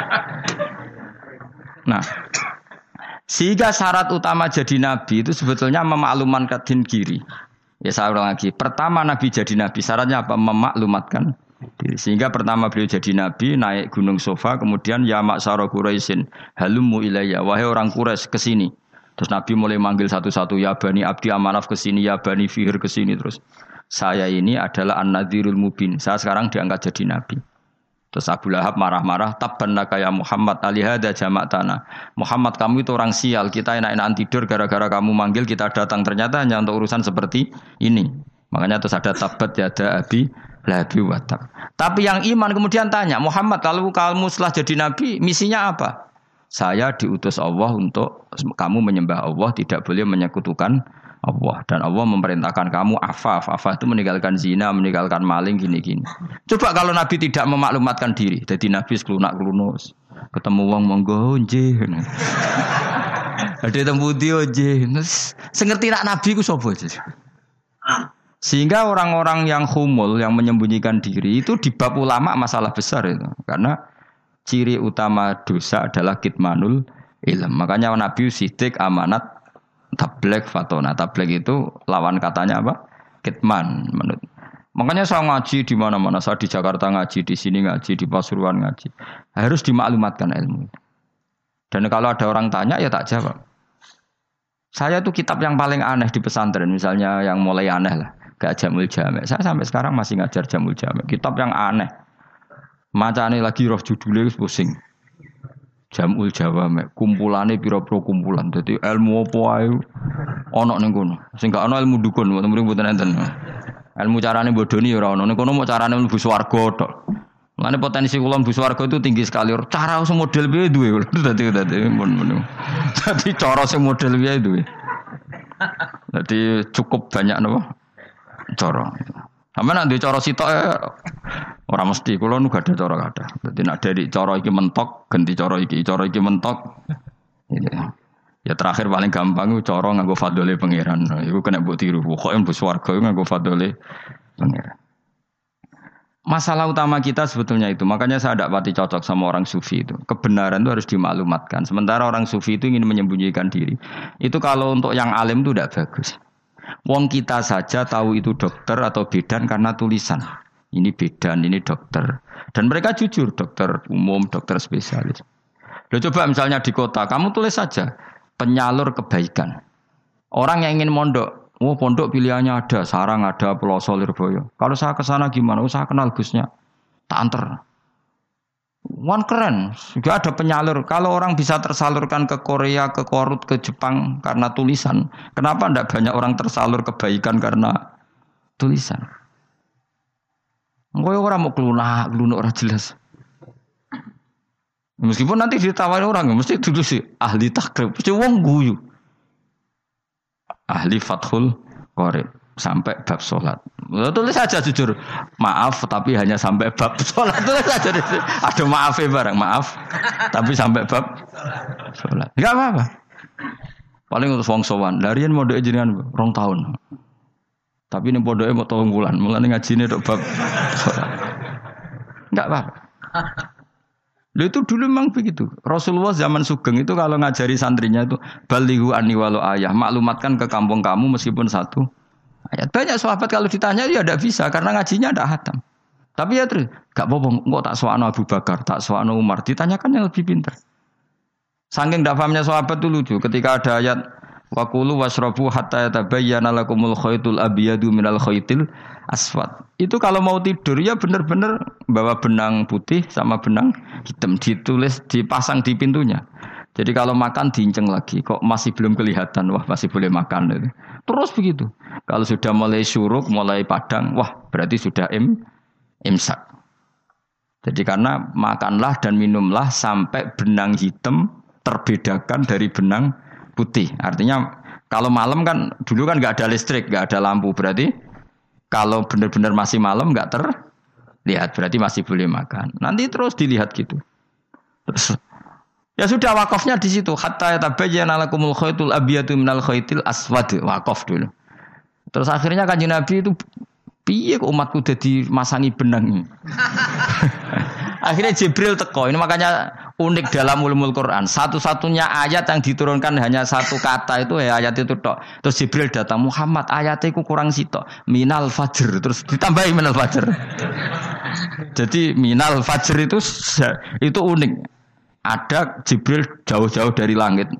Nah, sehingga syarat utama jadi nabi itu sebetulnya memaklumatkan diri. Ya saya ulang lagi. Pertama nabi jadi nabi syaratnya apa? Memaklumatkan diri. Sehingga pertama beliau jadi nabi naik gunung Sofa, kemudian ya maksara Quraisyin halummu ilayya, wahai orang Quraisy ke sini. Terus Nabi mulai manggil satu-satu, ya Bani Abdi Amanaf ke sini, ya Bani Fihr ke sini terus. Saya ini adalah An-Nadhirul Mubin. Saya sekarang diangkat jadi nabi. Terus Abu Lahab marah-marah, tabbannaka ya Muhammad alihada jama'tana. Muhammad kamu itu orang sial, kita enak-enakan tidur gara-gara kamu manggil kita datang, ternyata hanya untuk urusan seperti ini. Makanya terus ada tabat yada abi labi watab. Tapi yang iman kemudian tanya, Muhammad kalau kamu setelah jadi nabi, misinya apa? Saya diutus Allah untuk kamu menyembah Allah, tidak boleh menyekutukan Allah. Dan Allah memerintahkan kamu afaf. Afaf itu meninggalkan zina, meninggalkan maling, gini-gini. Coba kalau Nabi tidak memaklumatkan diri, jadi Nabi seklunak-klunus. Ketemu wong monggo nggih. Ada temu dia nggih. Sengerti nak Nabi ku sapa? Sehingga orang-orang yang humul, yang menyembunyikan diri itu di bab ulama masalah besar itu. Karena ciri utama dosa adalah kitmanul ilm. Makanya Nabi sidik, amanat, tabligh, fatona. Tabligh itu lawan katanya apa? Kitman. Menurut. Makanya saya ngaji di mana-mana. Saya di Jakarta ngaji, di sini ngaji, di Pasuruan ngaji. Harus dimaklumatkan ilmu. Dan kalau ada orang tanya, ya tak jawab. Saya tuh kitab yang paling aneh di pesantren. Misalnya yang mulai aneh lah. Gak Jamul Jami'. Saya sampai sekarang masih ngajar Jamul Jami'. Kitab yang aneh. Macane lagi roh judulnya pusing. Jamul Jawami'. Kumpulane pira-pira kumpulan. Dadi ilmu apa ae ana ning kono. Sing gak ana ilmu dukun, mboten enten. Ilmu carane bodoni ya ora ana. Ning kono mau carane mlebu swarga tok. Mulane potensi kula mlebu swarga itu tinggi sekali. Cara sing model piye duwe. Dadi dadi mun. Dadi cara sing model piye duwe. Dadi cukup banyak napa? Cara. Sampe nek ndek cara sitok ora mesti kula nu gak ada cara kada. Dadi nek dari cara iki mentok ganti cara iki, cara iki mentok. Gitu. Ya terakhir paling gampang ku cara nganggo fadhole pangeran. Iku kena mbok tiru. Pokoke mbok swarga iku nganggo fadhole pangeran. Masalah utama kita sebetulnya itu. Makanya saya tidak pati cocok sama orang sufi itu. Kebenaran itu harus dimaklumatkan. Sementara orang sufi itu ingin menyembunyikan diri. Itu kalau untuk yang alim itu tidak bagus. Wong kita saja tahu itu dokter atau bidan karena tulisan. Ini bidan, ini dokter. Dan mereka jujur, dokter umum, dokter spesialis. Loh, coba misalnya di kota, kamu tulis saja penyalur kebaikan. Orang yang ingin mondok, oh pondok pilihannya ada, Sarang ada, Peloso, Lirboyo. Kalau saya ke sana gimana? Oh, saya kenal Gusnya. Tak anter. Wan keren, juga ada penyalur. Kalau orang bisa tersalurkan ke Korea, ke Korut, ke Jepang karena tulisan, kenapa tidak banyak orang tersalur kebaikan karena tulisan? Engko orang mau kelunak, kelunak orang jelas. Meskipun nanti ditawari orang, mesti dulu sih ahli takrib, mesti wong guyu, ahli fathul qorib sampai bab sholat. Tulis saja jujur, maaf tapi hanya sampai bab sholat. Tulis saja, ada maafnya bareng, maaf tapi sampai bab sholat. Enggak apa-apa. Paling untuk wong sowan, larian mau doa jenengan rong tahun. Tapi ini podoke mau tolong bulan, mulane ngajine tok bab sholat. Enggak apa-apa. Lalu itu dulu memang begitu. Rasulullah zaman Sugeng itu kalau ngajari santrinya itu balighu anni walau ayah, maklumatkan ke kampung kamu meskipun satu ayat. Banyak sahabat kalau ditanya ya tidak bisa karena ngajinya tidak hatam. Tapi ya terus gak apa-apa, kok tak soano Abu Bakar, tak soano Umar, ditanyakan yang lebih pintar. Saking tidak pahamnya sahabat itu lucu ketika ada ayat wa kulu washrabu hatta yatabayyana lakumul khaytul abyadu minal khaytil aswad. Itu kalau mau tidur ya benar-benar bawa benang putih sama benang hitam, ditulis dipasang di pintunya. Jadi kalau makan diinceng lagi, kok masih belum kelihatan, wah masih boleh makan. Gitu. Terus begitu. Kalau sudah mulai syuruk, mulai padang, wah berarti sudah im, imsak. Jadi karena makanlah dan minumlah sampai benang hitam terbedakan dari benang putih. Artinya kalau malam kan, dulu kan nggak ada listrik, nggak ada lampu. Berarti kalau benar-benar masih malam nggak terlihat, berarti masih boleh makan. Nanti terus dilihat gitu. Terus ya sudah wakafnya di situ. Hatta yatabayyana lakumul khaytul abyadu minal khaytil aswad. Wakaf dulu. Terus akhirnya Kanjeng Nabi itu piye kok umatku dadi masangi benang. Akhirnya Jibril teko. Ini makanya unik dalam ulumul Quran. Satu-satunya ayat yang diturunkan hanya satu kata itu ya ayat itu tok. Terus Jibril datang, Muhammad ayatnya itu kurang sitok. Minal fajr. Terus ditambahi minal fajr. Jadi minal fajr itu itu unik. ada Jibril jauh-jauh dari langit.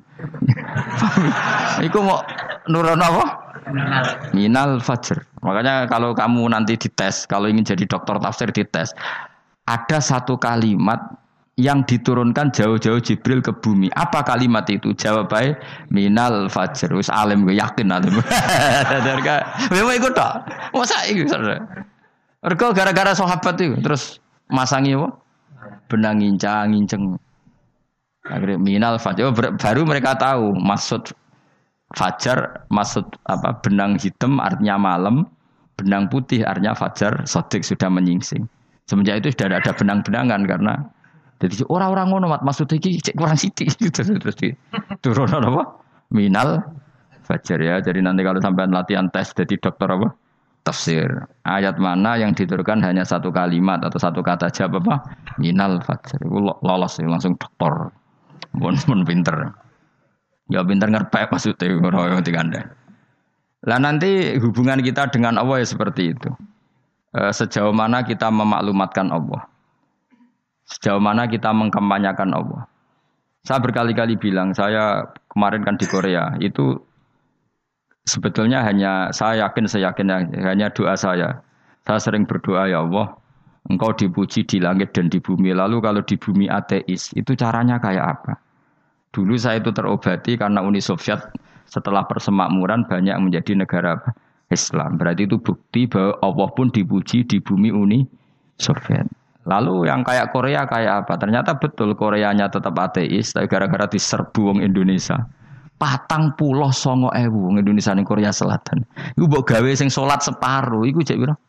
Iku mau nurun apa? Minal fajr. Makanya kalau kamu nanti dites, kalau ingin jadi dokter tafsir dites, ada satu kalimat yang diturunkan jauh-jauh Jibril ke bumi. Apa kalimat itu? Jawabannya minal fajr. Wis alim gue yakin alim. Memang ikut tak? Masa itu saudara? Mereka gara-gara sahabat itu terus masangi apa? Benang ngincang nginceng. Akhirnya minal fajr. Oh, baru mereka tahu maksud fajar, maksud apa? Benang hitam artinya malam, benang putih artinya fajar. Sodik sudah menyingsing. Semenjak itu sudah ada benang-benangan karena jadi orang-orang ngono mat maksud iki cek kurang sithik terus terus di turun apa? Minal fajar ya. Jadi nanti kalau sampai latihan tes jadi dokter apa? Tafsir. Ayat mana yang diturunkan hanya satu kalimat atau satu kata jawab apa? Minal fajar. Iku lolos langsung dokter. Mun mun pinter. Ya pinter ngerpek maksudnya ora digandeng. Lah nanti hubungan kita dengan Allah ya seperti itu. E, sejauh mana kita memaklumatkan Allah. Sejauh mana kita mengkampanyakan Allah. Saya berkali-kali bilang, saya kemarin kan di Korea, itu sebetulnya hanya, saya yakin, saya yakin, hanya doa saya. Saya sering berdoa, ya Allah, Engkau dipuji di langit dan di bumi. Lalu kalau di bumi ateis, itu caranya kayak apa? Dulu saya itu terobati karena Uni Soviet setelah persemakmuran banyak menjadi negara Islam. Berarti itu bukti bahwa Allah pun dipuji di bumi Uni Soviet. Lalu yang kayak Korea kayak apa? Ternyata betul Koreanya tetap ateis, tapi gara-gara diserbu wong Indonesia. Patang puloh songo ewu wong Indonesia ning Korea Selatan. Iku mbok gawe sing salat separuh, iku cek pira?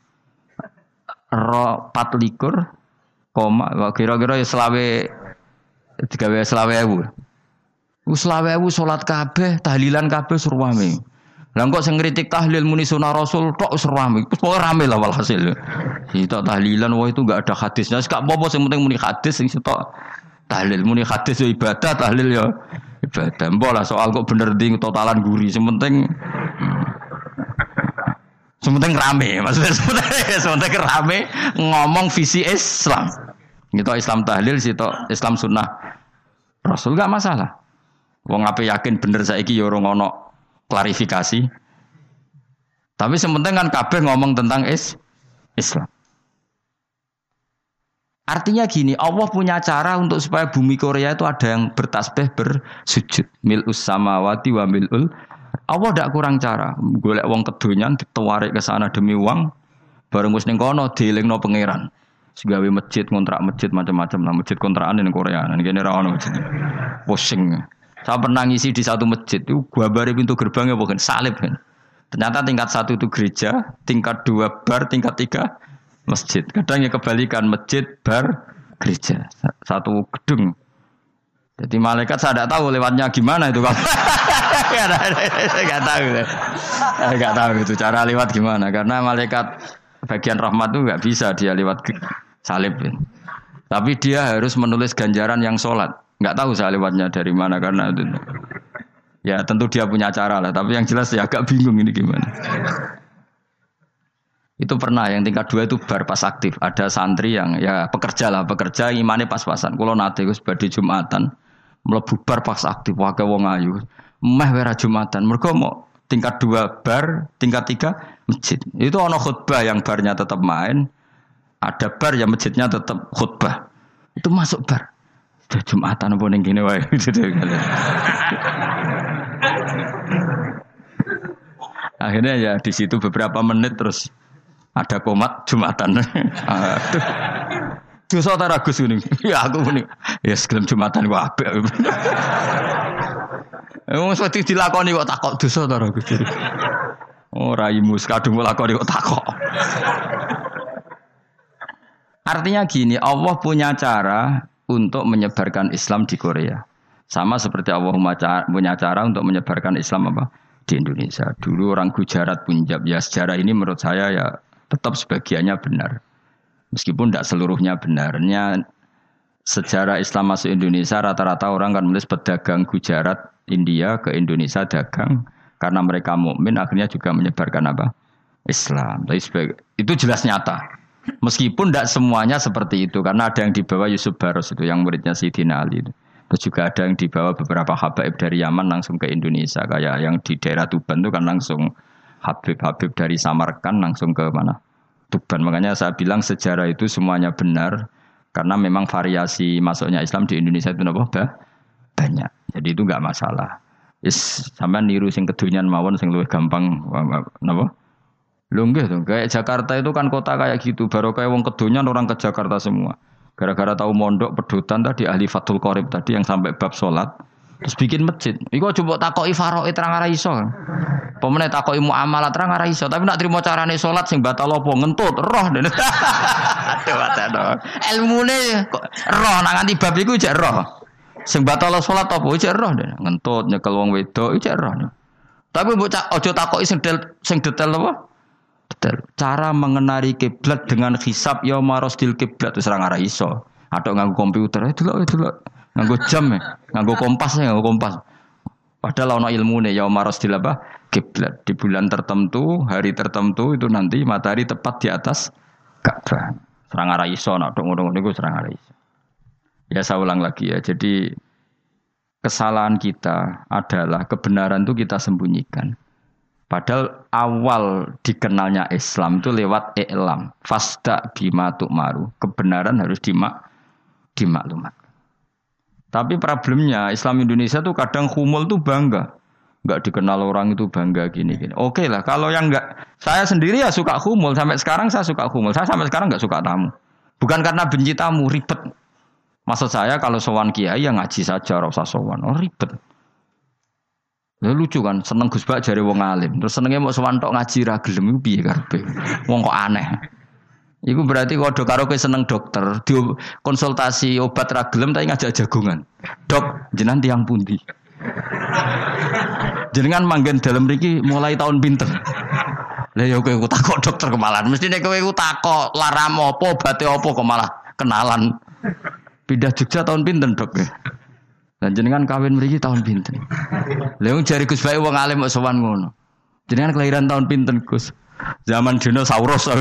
Ro pat likur, koma, kira-kira ya selawe digawe selawe ewu. Iku selawe ewu salat kabeh, tahlilan kabeh surwame. Lah kok sing ngritik tahlil muni sunah Rasul tok wis rame. Wis pokoke rame lah walhasil. Itu tahlilan wah itu enggak ada hadisnya. Gak apa-apa sing penting muni hadis sing sitok tahlil muni hadis ya ibadah, tahlil ya ibadah. Mbok lah soal kok bener ding totalan guri. Sing penting sing penting rame. Maksudnya sing penting rame ngomong visi Islam. Gitu Islam tahlil sitok Islam sunnah Rasul enggak masalah. Wong ape yakin bener saiki ya ora ono klarifikasi. Tapi sementing kan kabeh ngomong tentang is Islam. Artinya gini, Allah punya cara untuk supaya bumi Korea itu ada yang bertasbih bersujud. Mil'us samawati wa mil'ul. Allah tidak kurang cara. Golek wong kedonyan ditawarik ke sana demi uang. Bareng wis ning kono dielingno pangeran. Segawe masjid, kontrak masjid macam-macam lah. Masjid kontrakan ning Korea. Ning kene ra ono masjid. Pusing. Saya pernah ngisi di satu masjid itu, gambare pintu gerbangnya bukan salib kan. Ternyata tingkat satu itu gereja, tingkat dua bar, tingkat tiga masjid. Kadang ya kebalikan masjid, bar, gereja, satu gedung. Jadi malaikat saya tidak tahu lewatnya gimana itu. Saya nggak tahu, saya nggak tahu itu cara lewat gimana. Karena malaikat bagian rahmat itu nggak bisa dia lewat salib. Tapi dia harus menulis ganjaran yang sholat. Nggak tahu saya lewatnya dari mana karena itu. Ya tentu dia punya cara lah. Tapi yang jelas ya agak bingung ini gimana. Itu pernah yang tingkat dua itu bar pas aktif. Ada santri yang ya pekerja lah. Pekerja imannya pas-pasan. Kalau nanti gue sebagai Jumatan. Melebu bar pas aktif. Wakai wong ayu. Meh wera Jumatan. Mereka mau tingkat dua bar. Tingkat tiga masjid. Itu ono khutbah yang barnya tetap main. Ada bar yang masjidnya tetap khutbah. Itu masuk bar. Jumatan apa ning kene wae. Akhirnya ya di situ beberapa menit terus ada komat Jumatan. Aduh. Dosa ta ragus ngene. Ya aku muni. Ya segelem Jumatan ku apik. Wong wedi dilakoni kok takok dosa ta ragus. Ora imus kadung lakoni kok takok. Artinya gini, Allah punya cara untuk menyebarkan Islam di Korea. Sama seperti Allah punya cara untuk menyebarkan Islam apa di Indonesia. Dulu orang Gujarat, Punjab, ya sejarah ini menurut saya ya tetap sebagiannya benar. Meskipun tidak seluruhnya benarnya sejarah Islam masuk Indonesia rata-rata orang kan menulis pedagang Gujarat, India ke Indonesia dagang karena mereka mukmin akhirnya juga menyebarkan apa? Islam. Tapi itu jelas nyata. Meskipun tidak semuanya seperti itu karena ada yang dibawa Yusuf Baros itu yang muridnya Sayyidina Ali itu. Terus juga ada yang dibawa beberapa habaib dari Yaman langsung ke Indonesia. Kayak yang di daerah Tuban itu kan langsung habib-habib dari Samarkand langsung ke mana? Tuban. Makanya saya bilang sejarah itu semuanya benar. Karena memang variasi masuknya Islam di Indonesia itu apa? Banyak. Jadi itu enggak masalah. Is sampean niru sing kedunyan mawon sing luwih gampang napa? Lho nggih to, kayak Jakarta itu kan kota kayak gitu. Baru kayak wong kedunyan orang ke Jakarta semua. Gara-gara tahu mondok pedutan tadi ahli Fathul Qorib tadi yang sampai bab salat terus bikin masjid. Iku coba takoki faraid terang ora iso. Pemene takoki muamalah terang ora iso, tapi nak trimo carane salat sing batal apa ngentut roh. Aduh aduh. Ilmune kok roh nak nganti bab iku jek roh. Sing batal salat apa jek roh ngentut nyekel wong wedok jek roh. Tapi mbok aja takoki sing sing detail apa? Detail. Cara mengenali kiblat dengan hisab ya marosdil kiblat wis ora ngara iso. Atok nganggo komputer, eh delok delok. Nganggo jam ya, nganggo kompas ya, nganggo kompas. Padahal ana ilmune ya marosdil apa? Kiblat. Di bulan tertentu, hari tertentu itu nanti matahari tepat di atas Ka'bah. Ora ngara iso nek ngono-ngono iku ora ngara iso. Ya saya ulang lagi ya. Jadi kesalahan kita adalah kebenaran itu kita sembunyikan. Padahal awal dikenalnya Islam itu lewat i'lam. Fasda bima tu'maru. Kebenaran harus dimak dimaklumat. Tapi problemnya Islam Indonesia tuh kadang humul tuh bangga. Enggak dikenal orang itu bangga gini-gini. Oke lah, kalau yang enggak, saya sendiri ya suka humul. Sampai sekarang saya suka humul. Saya sampai sekarang enggak suka tamu. Bukan karena benci tamu, ribet. Maksud saya kalau sowan kiai ya ngaji saja, ora usah sowan. Oh ribet. Ya lucu kan, seneng Gus Bak jare wong alim. Terus senenge mau sowan tok ngaji ra gelem iku piye karepe. Wong kok aneh. Iku berarti kalau karo kowe seneng dokter, di konsultasi obat ra gelem tapi ngajak jagongan. Dok, jenengan tiyang pundi? Jenengan manggen dalem mriki mulai tahun pinten? Lah ya kowe takok dokter kemalan. Mestine kowe iku takok laram apa, obate apa kok malah kenalan. Pindah Jogja tahun pinten, Dok? Dan jenengan kawin mriki tahun pinten? Lha wong jare Gus Bae wong alim kok sowan ngono. Jenengan kelahiran tahun pinten, Gus? Zaman dinosaurus.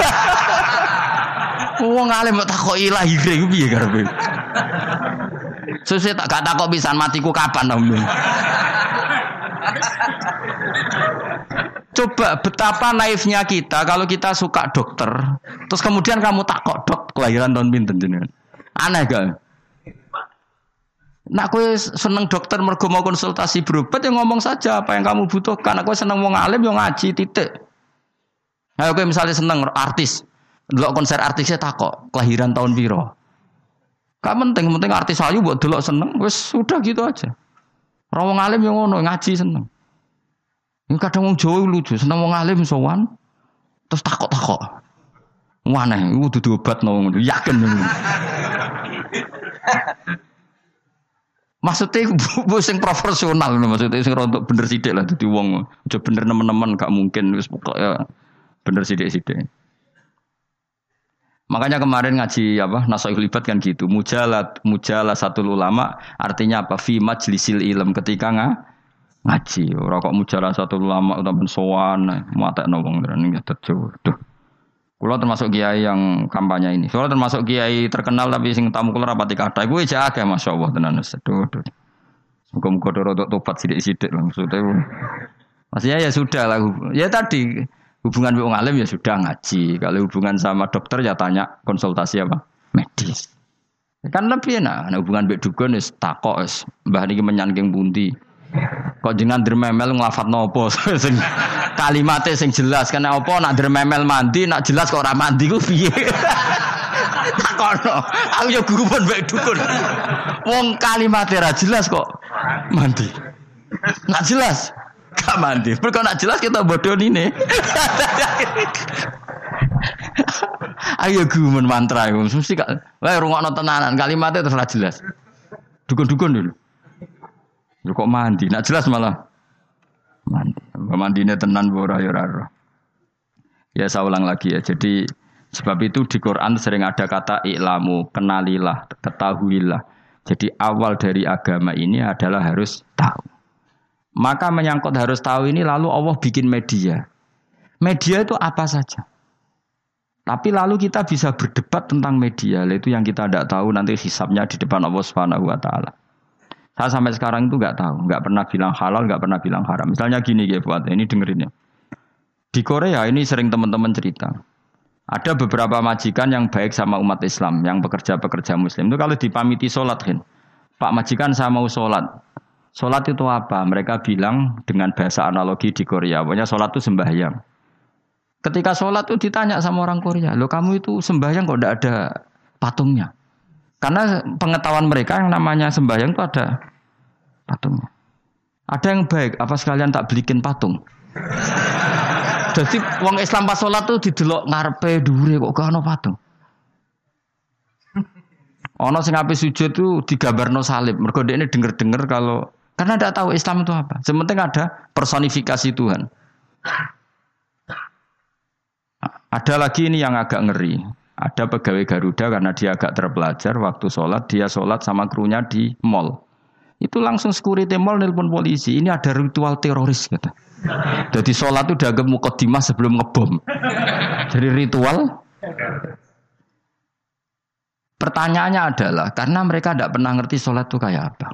Wong alim kok takoki lahire iku piye karepe? Sesuk tak gak takok pisan matiku kapan to. Coba betapa naifnya kita kalau kita suka dokter, terus kemudian kamu takok, Dok, kelahiran tahun pinten jenengan? Aneh gak? Nak kowe seneng dokter mergo mau konsultasi berobat ya ngomong saja apa yang kamu butuhkan. Nak kowe seneng wong alim yo ngaji titik. Ayo kowe misalnya seneng artis, delok konser artisnya takok kelahiran tahun piro. Gak penting, penting artis ayu mbok delok seneng wis sudah gitu aja. Ora wong alim yo ngono ngaji seneng. Ini kadang wong Jawa lucu, seneng wong alim sowan terus takok-takok. Waneh iku dudu obat no yakin. Maksudnya bu sing profesional maksudnya sing rontok bener sithik lah dadi wong aja bener nemen-nemen gak mungkin wis pokoke bener sithik-sithik. Makanya kemarin ngaji apa Nasaihul Ibad kan gitu, mujalat mujalah satu ulama artinya apa fi majlisil ilm ketika nga, ngaji. Ora kok mujalah satu ulama utawa sowan matekno wong ning tejo. Duh. Kula termasuk kiai yang kampanye ini. Soalnya termasuk kiai terkenal tapi sing tamu kula rapati kathah. Iku aja akeh masyaallah tenan wis. Aduh. Muga-muga rodok tobat sithik-sithik maksudnya. Maksudnya ya sudah lah. Ya tadi hubungan wong alim ya sudah ngaji. Kalau hubungan sama dokter ya tanya konsultasi apa? Medis. Kan lebih enak. Nah, hubungan mbek dukun wis takok wis mbah niki menyangking pundi. Kok jenengan dermemel nglafadzno apa sing kalimate sing jelas kan apa nak dermemel mandi nak jelas kok ora mandi ku piye takono aku ya guru pun mbek dukun wong kalimate ra jelas kok mandi nak jelas gak mandi mergo nak jelas kita bodonine ayo guru men mantra iku mesti gak wae rungokno tenanan kalimate terus ra jelas dukun-dukun dulu. Lu kok mandi? Nak jelas malah mandi. Mandine tenan ora ya ora. Ya saya ulang lagi ya. Jadi sebab itu di Quran sering ada kata i'lamu, kenalilah, ketahuilah. Jadi awal dari agama ini adalah harus tahu. Maka menyangkut harus tahu ini lalu Allah bikin media. Media itu apa saja. Tapi lalu kita bisa berdebat tentang media. Itu yang kita tidak tahu nanti hisabnya di depan Allah Subhanahu wa taala. Saya sampai sekarang itu nggak tahu, nggak pernah bilang halal, nggak pernah bilang haram. Misalnya gini ya buat ini dengerin ya. Di Korea ini sering teman-teman cerita. Ada beberapa majikan yang baik sama umat Islam, yang pekerja-pekerja Muslim. Itu kalau dipamiti sholat, kan, Pak majikan saya mau sholat. Sholat itu apa? Mereka bilang dengan bahasa analogi di Korea. Pokoknya sholat itu sembahyang. Ketika sholat itu ditanya sama orang Korea, loh kamu itu sembahyang kok tidak ada patungnya? Karena pengetahuan mereka yang namanya sembahyang itu ada patungnya. Ada yang baik, apa sekalian tak belikin patung? Jadi wong Islam pas sholat tuh didelok ngarepe dhuwure kok gak ono patung. Ono sing ape sujud tuh digambarno salib. Mergo dekne denger-denger kalau karena tidak tahu Islam itu apa. Sementing ada personifikasi Tuhan. Ada lagi ini yang agak ngeri. Ada pegawai Garuda karena dia agak terpelajar waktu sholat dia sholat sama krunya di mall. Itu langsung security mall nelpon polisi. Ini ada ritual teroris kata. Jadi sholat itu dianggap mukadimah sebelum ngebom. Jadi ritual. Pertanyaannya adalah karena mereka tidak pernah ngerti sholat itu kayak apa.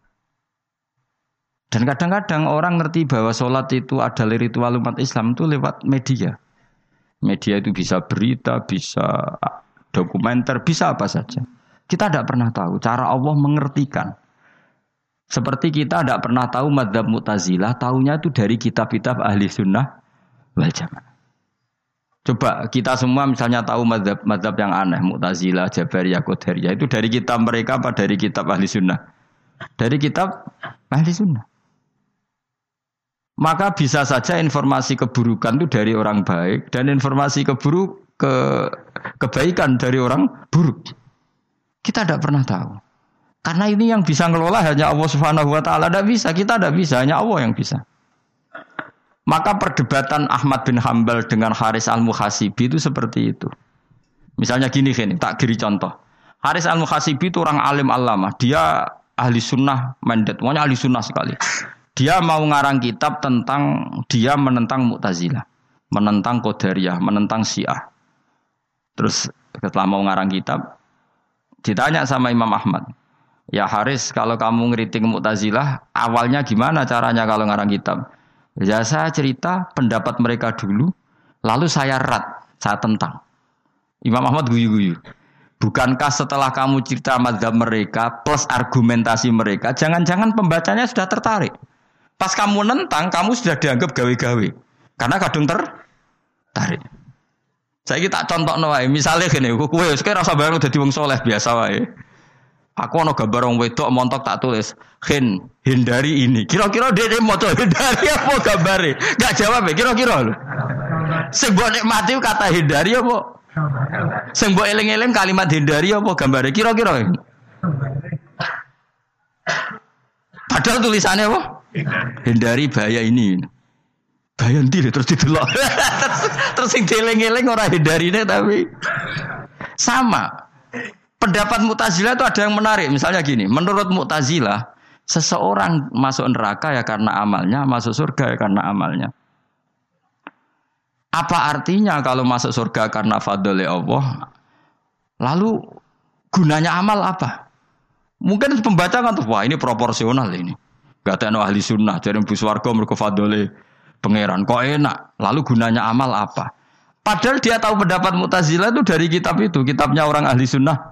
Dan kadang-kadang orang ngerti bahwa sholat itu adalah ritual umat Islam itu lewat media. Media itu bisa berita, bisa dokumenter, bisa apa saja. Kita tidak pernah tahu cara Allah mengertikan. Seperti kita tidak pernah tahu madzhab Mu'tazilah, tahunya itu dari kitab-kitab ahli sunnah wal jamaah. Coba kita semua misalnya tahu madzhab-madzhab yang aneh, Mu'tazilah, Jabariyah, Qadariyah, itu dari kitab mereka apa dari kitab ahli sunnah? Dari kitab ahli sunnah. Maka bisa saja informasi keburukan itu dari orang baik dan informasi keburuk ke kebaikan dari orang buruk. Kita tidak pernah tahu. Karena ini yang bisa ngelola hanya Allah Subhanahu wa taala, tidak bisa, kita tidak bisa, hanya Allah yang bisa. Maka perdebatan Ahmad bin Hambal dengan Haris Al-Muhasibi itu seperti itu. Misalnya gini gini, tak kiri contoh. Haris Al-Muhasibi itu orang alim allamah, dia ahli sunnah mandat, pokoknya ahli sunnah sekali. Dia mau ngarang kitab tentang dia menentang Mu'tazilah, menentang Qadariyah, menentang Syiah. Terus setelah mau ngarang kitab, ditanya sama Imam Ahmad, ya Haris, kalau kamu ngeritik Mu'tazilah, awalnya gimana caranya kalau ngarang kitab? Ya saya cerita pendapat mereka dulu, lalu saya rat, saya tentang. Imam Ahmad guyu-guyu. Bukankah setelah kamu cerita mazhab mereka plus argumentasi mereka, jangan-jangan pembacanya sudah tertarik. Pas kamu nentang, kamu sudah dianggap gawe-gawe. Karena kadung tertarik. Saya kita contoh wae, misalnya gini, kowe sekarang rasa bareng dadi wong soleh biasa wae. Aku ana gambar wong wedok montok tak tulis, "Hin, hindari ini." Kira-kira dia dia mau hindari apa gambare? Enggak jawab ya, kira-kira lho. Sing mbok nikmati kata hindari apa? Sing mbok eling-eling kalimat hindari apa gambare? Kira-kira. Padahal tulisannya apa? Hindari bahaya ini. Bahaya ndi terus didelok. Terus sing dieling-eling ora hindarine tapi sama. Pendapat Mu'tazilah itu ada yang menarik. Misalnya gini, menurut Mu'tazilah, seseorang masuk neraka ya karena amalnya, masuk surga ya karena amalnya. Apa artinya kalau masuk surga karena fadl Allah? Lalu gunanya amal apa? Mungkin pembaca kan tuh, wah ini proporsional ini. Gak ada ahli sunnah, jadi bus warga mereka fadl pangeran. Kok enak? Lalu gunanya amal apa? Padahal dia tahu pendapat Mu'tazilah itu dari kitab itu, kitabnya orang ahli sunnah.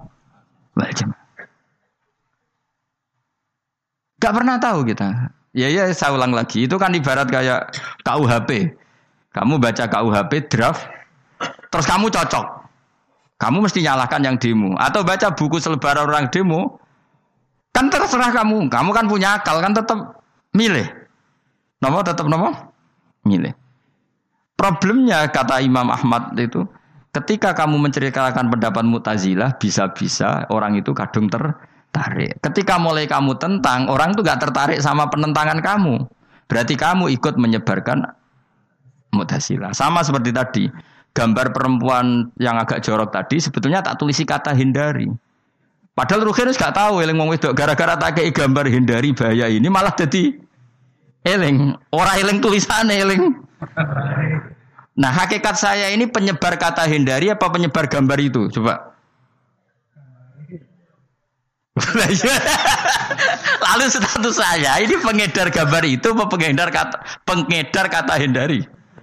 Gak pernah tahu kita. Ya ya saya ulang lagi. Itu kan ibarat kayak K U H P. Kamu baca K U H P draft, terus kamu cocok. Kamu mesti nyalahkan yang demo. Atau baca buku selebaran orang demo, kan terserah kamu. Kamu kan punya akal, kan tetap milih. Nomor tetap nomor milih. Problemnya kata Imam Ahmad itu, ketika kamu menceritakan pendapat Mu'tazilah, bisa-bisa orang itu kadung tertarik. Ketika mulai kamu tentang, orang itu gak tertarik sama penentangan kamu. Berarti kamu ikut menyebarkan Mu'tazilah. Sama seperti tadi, gambar perempuan yang agak jorok tadi, sebetulnya tak tulisi kata hindari. Padahal Ruhin gak tahu, eling wong wedok gara-gara tak kei gambar hindari bahaya ini, malah jadi eling. Orang eling tulisannya eling. Nah hakikat saya ini penyebar kata hindari apa penyebar gambar itu? Coba. Lalu status saya ini pengedar gambar itu apa pengedar kata pengedar kata hindari?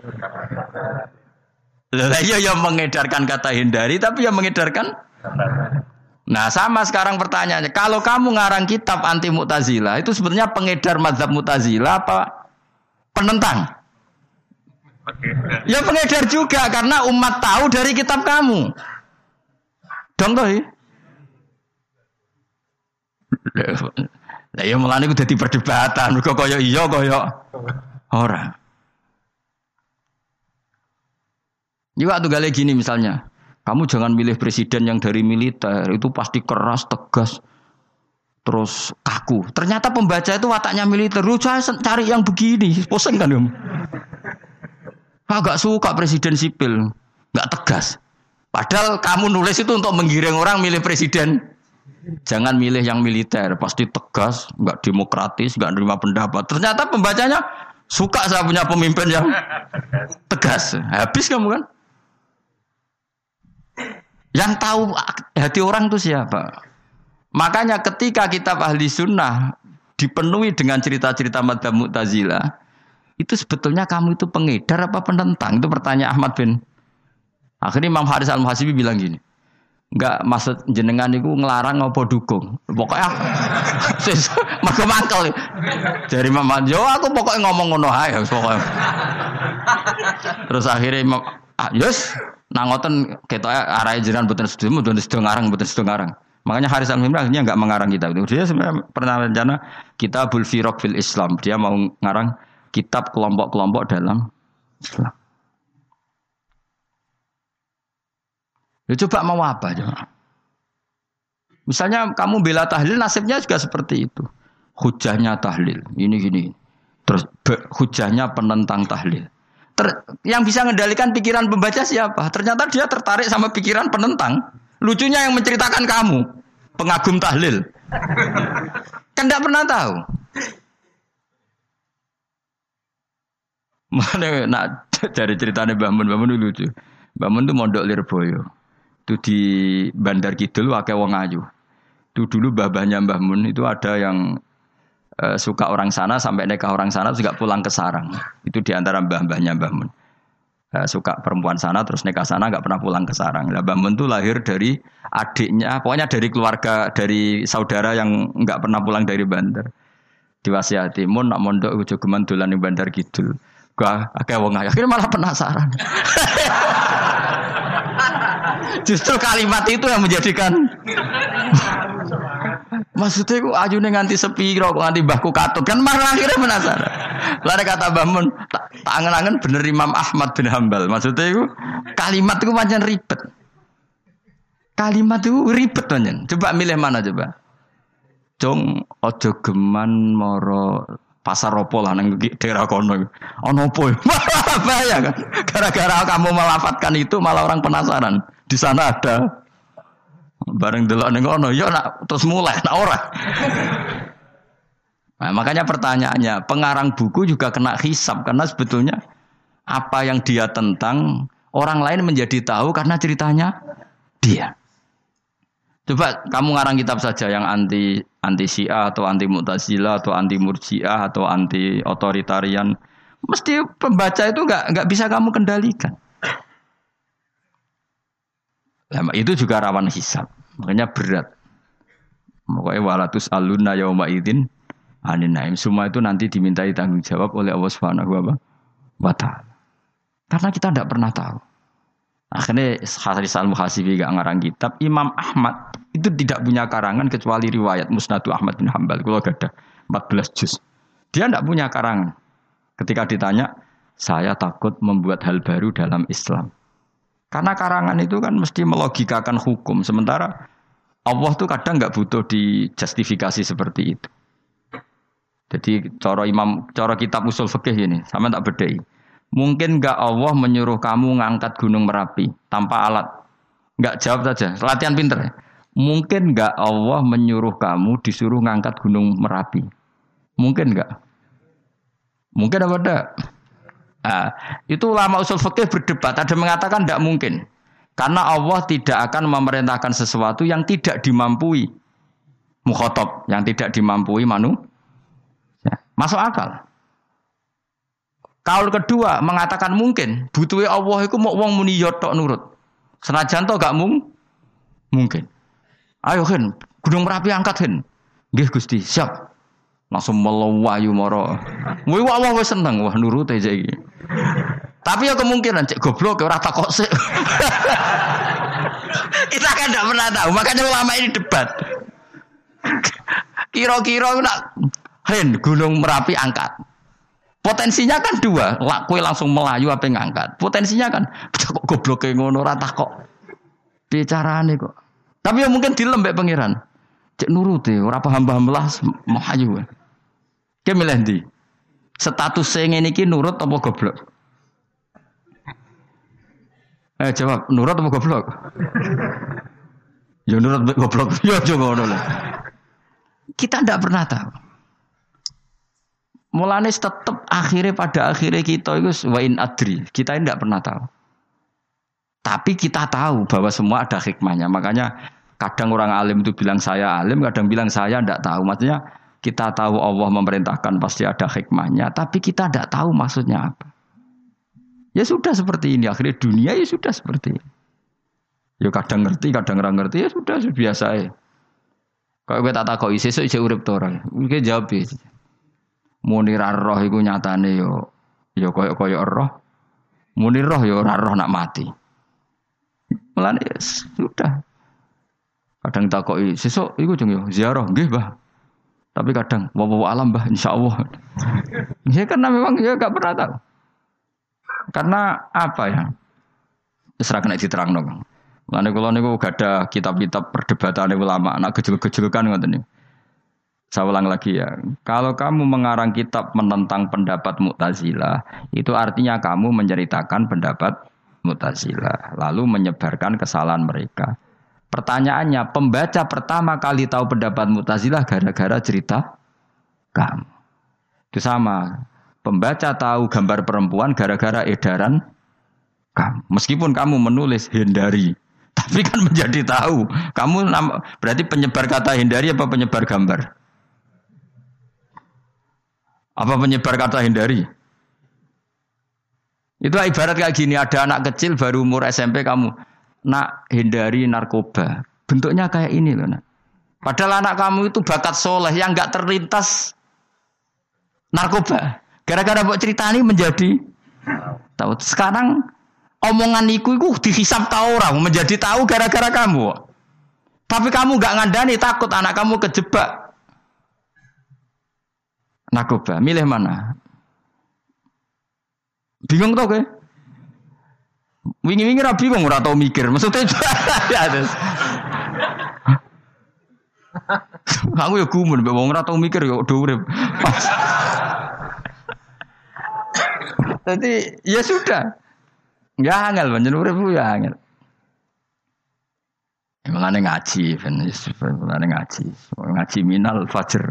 Lah iya yang mengedarkan kata hindari tapi yang mengedarkan. Nah sama sekarang pertanyaannya, kalau kamu ngarang kitab anti Mu'tazilah itu sebenarnya pengedar mazhab Mu'tazilah apa penentang? Ya pengedar juga karena umat tahu dari kitab kamu. Dong toh. Lah ya mulane ku dadi perdebatan, kok kaya iya kaya ora. Juga tuh gale gini misalnya, kamu jangan milih presiden yang dari militer, itu pasti keras, tegas, terus kaku. Ternyata pembaca itu wataknya militer, lu cari yang begini, pusing kan kamu. Agak suka presiden sipil, nggak tegas. Padahal kamu nulis itu untuk menggiring orang milih presiden. Jangan milih yang militer, pasti tegas, nggak demokratis, nggak nerima pendapat. Ternyata pembacanya suka saya punya pemimpin yang tegas. Habis kamu kan? Yang tahu hati orang itu siapa? Makanya ketika kitab Ahli Sunnah dipenuhi dengan cerita-cerita madzhab Mu'tazilah, itu sebetulnya kamu itu pengedar apa penentang? Itu pertanyaan Ahmad bin. Akhirnya Imam Haris Al-Muhasibi bilang gini, enggak maksud jenengan itu ngelarang apa dukung. Pokoknya mergo mangkel. Dari Imam Yo aku pokoknya ngomong ngono ae pokoknya. Terus akhirnya Imam ah, yes, nang ngoten ketoke arahe jenengan mboten sedo mboten sedo ngarang mboten sedo ngarang. Makanya Haris Al-Muhasibi akhirnya enggak mengarang kitab itu. Dia sebenarnya pernah rencana Kitabul Firaq fil Islam. Dia mau ngarang kitab kelompok-kelompok dalam Islam. Ya coba mau apa coba? Misalnya kamu bela tahlil, nasibnya juga seperti itu. Hujahnya tahlil, ini gini. Terus be, hujahnya penentang tahlil. Ter, yang bisa mengendalikan pikiran pembaca siapa? Ternyata dia tertarik sama pikiran penentang. Lucunya yang menceritakan kamu, pengagum tahlil. Kan tidak pernah tahu. Mana nak cari ceritanya Mbah Mun, Mbah Mun lucu. Mbah Mun itu mondok Lirboyo. Itu di Bandar Kidul akeh wong ayu. Itu dulu babahnya Mbah Mun itu ada yang uh, suka orang sana sampai nikah orang sana juga pulang ke sarang. Itu di antara mbah-mbahnya Mbah Mun. Uh, suka perempuan sana terus nikah sana enggak pernah pulang ke sarang. Lah Mbah Mun itu lahir dari adiknya, pokoknya dari keluarga dari saudara yang enggak pernah pulang dari Bandar. Diwasiati mun nak mondok ojo geman dolan ning Bandar Kidul. Gua akeh wong ayu. Akhirnya malah penasaran. Justru kalimat itu yang menjadikan maksudnya ku ajune nganti sepiro kok nganti mbahku katut kan malah akhirnya penasaran. Lare kata Mbah Mun tak ta angen-angen bener Imam Ahmad bin Hambal. Maksudnya ku kalimat itu pancen ribet. Kalimat itu ribet pancen. Coba milih mana coba? Jong ojo geman moro pasar opo lah nang daerah kono. Ono opo? Bahaya kan. Gara-gara kamu melafatkan itu malah orang penasaran. Di sana ada. Bareng delok ning kono, ya nak terus mulai nak ora. Nah, makanya pertanyaannya, pengarang buku juga kena hisab karena sebetulnya apa yang dia tentang orang lain menjadi tahu karena ceritanya dia. Coba kamu ngarang kitab saja yang anti anti Syiah atau anti Mu'tazilah atau anti Murji'ah atau anti otoritarian, mesti pembaca itu enggak enggak bisa kamu kendalikan. Nah, itu juga rawan hisab, makanya berat. Makanya walatus aluna yauma idzin anin naim. Semua itu nanti dimintai tanggung jawab oleh Allah Subhanahu wa taala. Karena kita tidak pernah tahu. Akhirnya Haris Al-Muhasibi gak ngarang kitab. Imam Ahmad itu tidak punya karangan kecuali riwayat Musnadu Ahmad bin Hambal. Kalau ada empat belas juz. Dia tidak punya karangan. Ketika ditanya, saya takut membuat hal baru dalam Islam. Karena karangan itu kan mesti melogikakan hukum. Sementara Allah tuh kadang nggak butuh dijustifikasi seperti itu. Jadi cara imam, cara kitab usul fikih ini, sama tak bedai. Mungkin nggak Allah menyuruh kamu ngangkat gunung Merapi tanpa alat? Nggak, jawab saja. Latihan pinter. Ya? Mungkin nggak Allah menyuruh kamu disuruh ngangkat gunung Merapi? Mungkin nggak? Mungkin apa enggak? Nah, itu ulama usul fikih berdebat. Ada mengatakan tidak mungkin. Karena Allah tidak akan memerintahkan sesuatu yang tidak dimampui. mukhatab yang tidak dimampui manusia. Masuk akal. Kaul kedua mengatakan mungkin butuhe Allah iku mau wong muni yo tok nurut. Senajan to gak mung mungkin. Ayo Hen, Gunung Merapi angkat Hen. Nggih Gusti, siap. Langsung melawayu mara. Kuwi Allah wis seneng wah nurut aja iki. Tapi ya kemungkinan cek goblok ora takok sik. Kita kan tidak pernah tahu, makanya ulama ini debat. Kira-kira nak Hen Gunung Merapi angkat. Potensinya kan dua, kowe langsung melayu apa ngangkat. Potensinya kan kok gobloke ngono ora takok. Bicarane kok. Tapi ya mungkin dilembek pangeran. Cek nuruti ora paham-paham belas melayu. Ki milih ndi? Status sing ngene iki nurut apa goblok? Eh jawab, nurut apa goblok? Ya nurut goblok. Ya aja ngono lah. Kita ndak pernah tahu. Mulane tetep akhirnya pada akhirnya kita itu wa in adri. Kita ini ndak pernah tahu. Tapi kita tahu bahwa semua ada hikmahnya. Makanya kadang orang alim itu bilang saya alim, kadang bilang saya ndak tahu. Maksudnya kita tahu Allah memerintahkan pasti ada hikmahnya, tapi kita ndak tahu maksudnya apa. Ya sudah seperti ini, akhirnya dunia ya sudah seperti ini. Ya kadang ngerti, kadang ora ngerti, ya sudah biasa ya. Kalau gue tak takoki sesuk isih urip to ora. Iki jawab e. Muni ra roh iku nyatane yo ya koyo-koyo roh. Muni roh ya ora roh nak mati. Mulane ya sudah. Kadang takoki sesuk iku jeng yo ziarah nggih, Mbah. Tapi kadang wa alam, Mbah, insyaallah. Ya karena memang ya enggak pernah tahu. Karena apa ya? Terserah kena diterangno, Kang. Mulane kula niku gak ada kitab-kitab perdebatan ulama, anak gejol-gejolkan ngoten niku. Saya ulang lagi ya. Kalau kamu mengarang kitab menentang pendapat Mu'tazilah, itu artinya kamu menceritakan pendapat Mu'tazilah, lalu menyebarkan kesalahan mereka. Pertanyaannya, pembaca pertama kali tahu pendapat Mu'tazilah gara-gara cerita kamu. Itu sama. Pembaca tahu gambar perempuan gara-gara edaran kamu. Meskipun kamu menulis hindari, tapi kan menjadi tahu. Kamu berarti penyebar kata hindari apa penyebar gambar? Apa penyebar kata hindari? Itu ibarat kayak gini, ada anak kecil baru umur S M P kamu nak hindari narkoba. Bentuknya kayak ini loh, nak. Padahal anak kamu itu bakat soleh yang enggak terlintas narkoba. Gara-gara buat cerita ini menjadi tahu. Sekarang omongan iku iku dihisab tahu orang menjadi tahu gara-gara kamu. Tapi kamu enggak ngandani, takut anak kamu kejebak narkoba. Milih mana? Bingung tau ke? Wingi-wingi ra bingung ora tau mikir. Maksudnya ya terus. Aku ya gumun mbek wong ora tau mikir ya do urip. Jadi ya sudah. Ya angel pancen urip ya angel. Mulane ngaji, ben mulane ngaji. Ngaji minal fajr.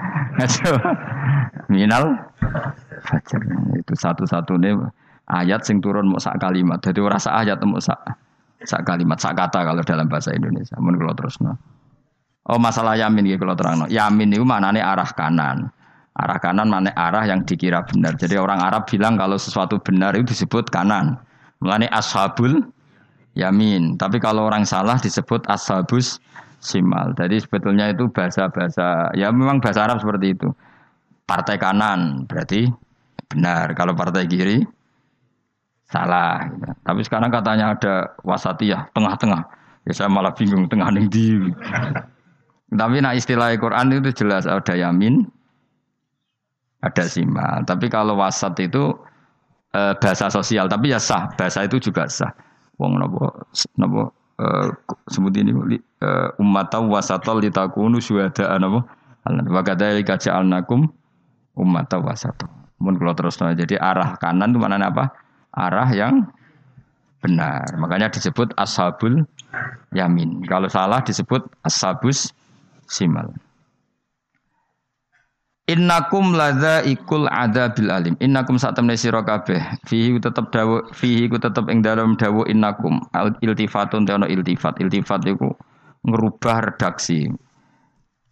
Minal fajr itu satu-satunya ayat sing turun mau sak kalimat. Jadi ora sak ayat mau sak sak kalimat, sak kata kalau dalam bahasa Indonesia. Mun kula terusno. Oh masalah yamin iki kula terangno. Yamin itu maknane arah kanan. Arah kanan maknane arah yang dikira benar. Jadi orang Arab bilang kalau sesuatu benar itu disebut kanan. Mulane ashabul yamin. Tapi kalau orang salah disebut ashabus simal. Jadi sebetulnya itu bahasa-bahasa ya memang bahasa Arab seperti itu. Partai kanan berarti benar. Kalau partai kiri salah. Gitu. Tapi sekarang katanya ada wasatiyah, tengah-tengah. Ya saya malah bingung tengah ning ndi. Tapi nah istilah Al-Qur'an itu jelas ada yamin, ada simal. Tapi kalau wasat itu e, bahasa sosial. Tapi ya sah. Bahasa itu juga sah. Wong napa napa e, sebut ini e, ummatan wasatal litakunu syuhada'a napa. Wa kadzalika ja'alnakum ummatan wasatal. Mun kula terusno. Jadi arah kanan itu maknanya apa? Arah yang benar. Makanya disebut ashabul yamin. Kalau salah disebut ashabus simal. Innakum ladzaikul adzabil alim. Innakum satamne sira kabeh. Fihi tetep dawuh fihi ku tetep ing dalem dawuh innakum. Iltifatun teono iltifat. Iltifat iku ngerubah redaksi.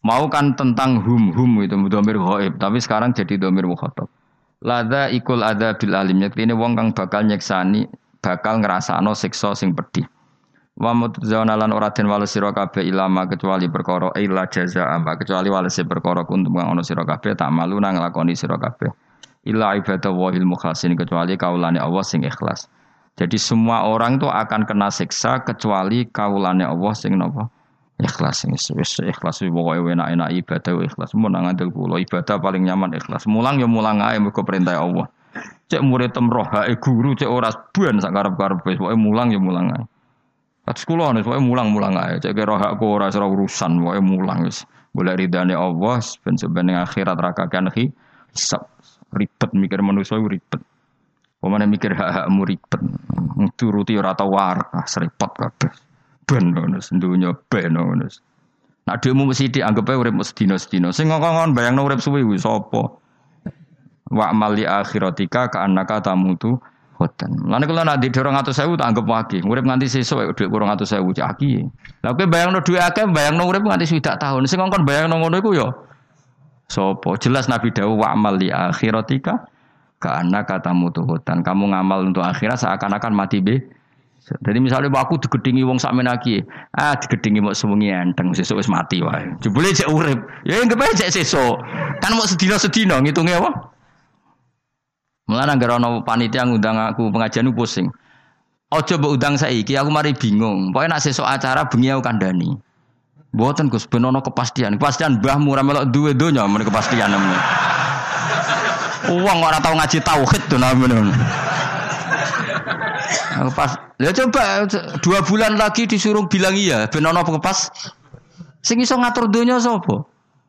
Mau kan tentang hum hum itu domir ghaib, tapi sekarang jadi domir mukhatab. Lada ikul ada bil alim ini wong kang bakal nyeksani, bakal ngrasakno siksa sing pedih. Wa mutzauna lan ora den wales sira kabeh ilama kecuali perkara illa jazaa kecuali wales perkara kuntum kang ana sira kabeh tak malu nang nglakoni sira kabeh. Illa ibadah wahil mukhlasin kecuali kaulane Allah sing ikhlas. Jadi semua orang itu akan kena siksa kecuali kaulane Allah sing napa? Ikhlas. Wis ikhlas pokoke enak-enak ibadah ikhlas. Mun nang ngandel kula ibadah paling nyaman ikhlas. Mulang ya mulang ae mergo perintah Allah. Cek murid temroh hae guru cek ora ban sak karep-karep wis pokoke mulang ya mulang ae. Atus kula nek pokoke mulang-mulang ae. Cek kira hakku ora ora urusan pokoke mulang wis. Golek ridane Allah ben sebene akhirat rakakan hisab. Ribet mikir manusia ribet. Pemane mikir hak-hakmu ribet. Turuti ora tau waras repot kabeh. Ben ngono dunya ben ngono. Nek dhekmu mesti dianggep ae urip sedina-sedina. Sing ngongkon bayangno urip suwi kuwi sapa? Wa amal li akhiratika ka annaka tamutu hoten. Lan kula nek ndek dua ratus ribu tak anggap wage. Urip nganti sesuk dhuwit dua ratus ribu cak aki. Lah kowe bayangno dhuwit akeh bayangno urip nganti swidak tahun. Sing ngongkon bayangno ngono iku ya sapa? Jelas Nabi dawuh wa amal li akhiratika ka annaka tamutu hoten. Kamu ngamal untuk akhirat seakan-akan mati be. Jadi misalnya aku digedingi wong sakmen iki, ah digedingi mok sewengi enteng sesuk wis mati wae. Jebule cek urip. Ya enggak bae cek sesuk. Kan mok sedina-sedina ngitunge apa? Mulane anggere ana panitia ngundang aku pengajian ku pusing. Aja mbok undang saiki, aku mari bingung. Pokoke nek sesuk acara bengi aku kandhani. Mboten Gus ben ana kepastian. Kepastian mbahmu ora melok duwe donya men kepastian men. Wong ora tau ngaji tauhid to namene. Pas, ya coba dua bulan lagi disuruh bilang iya, ben ana kepas. Sing iso ngatur donya sapa?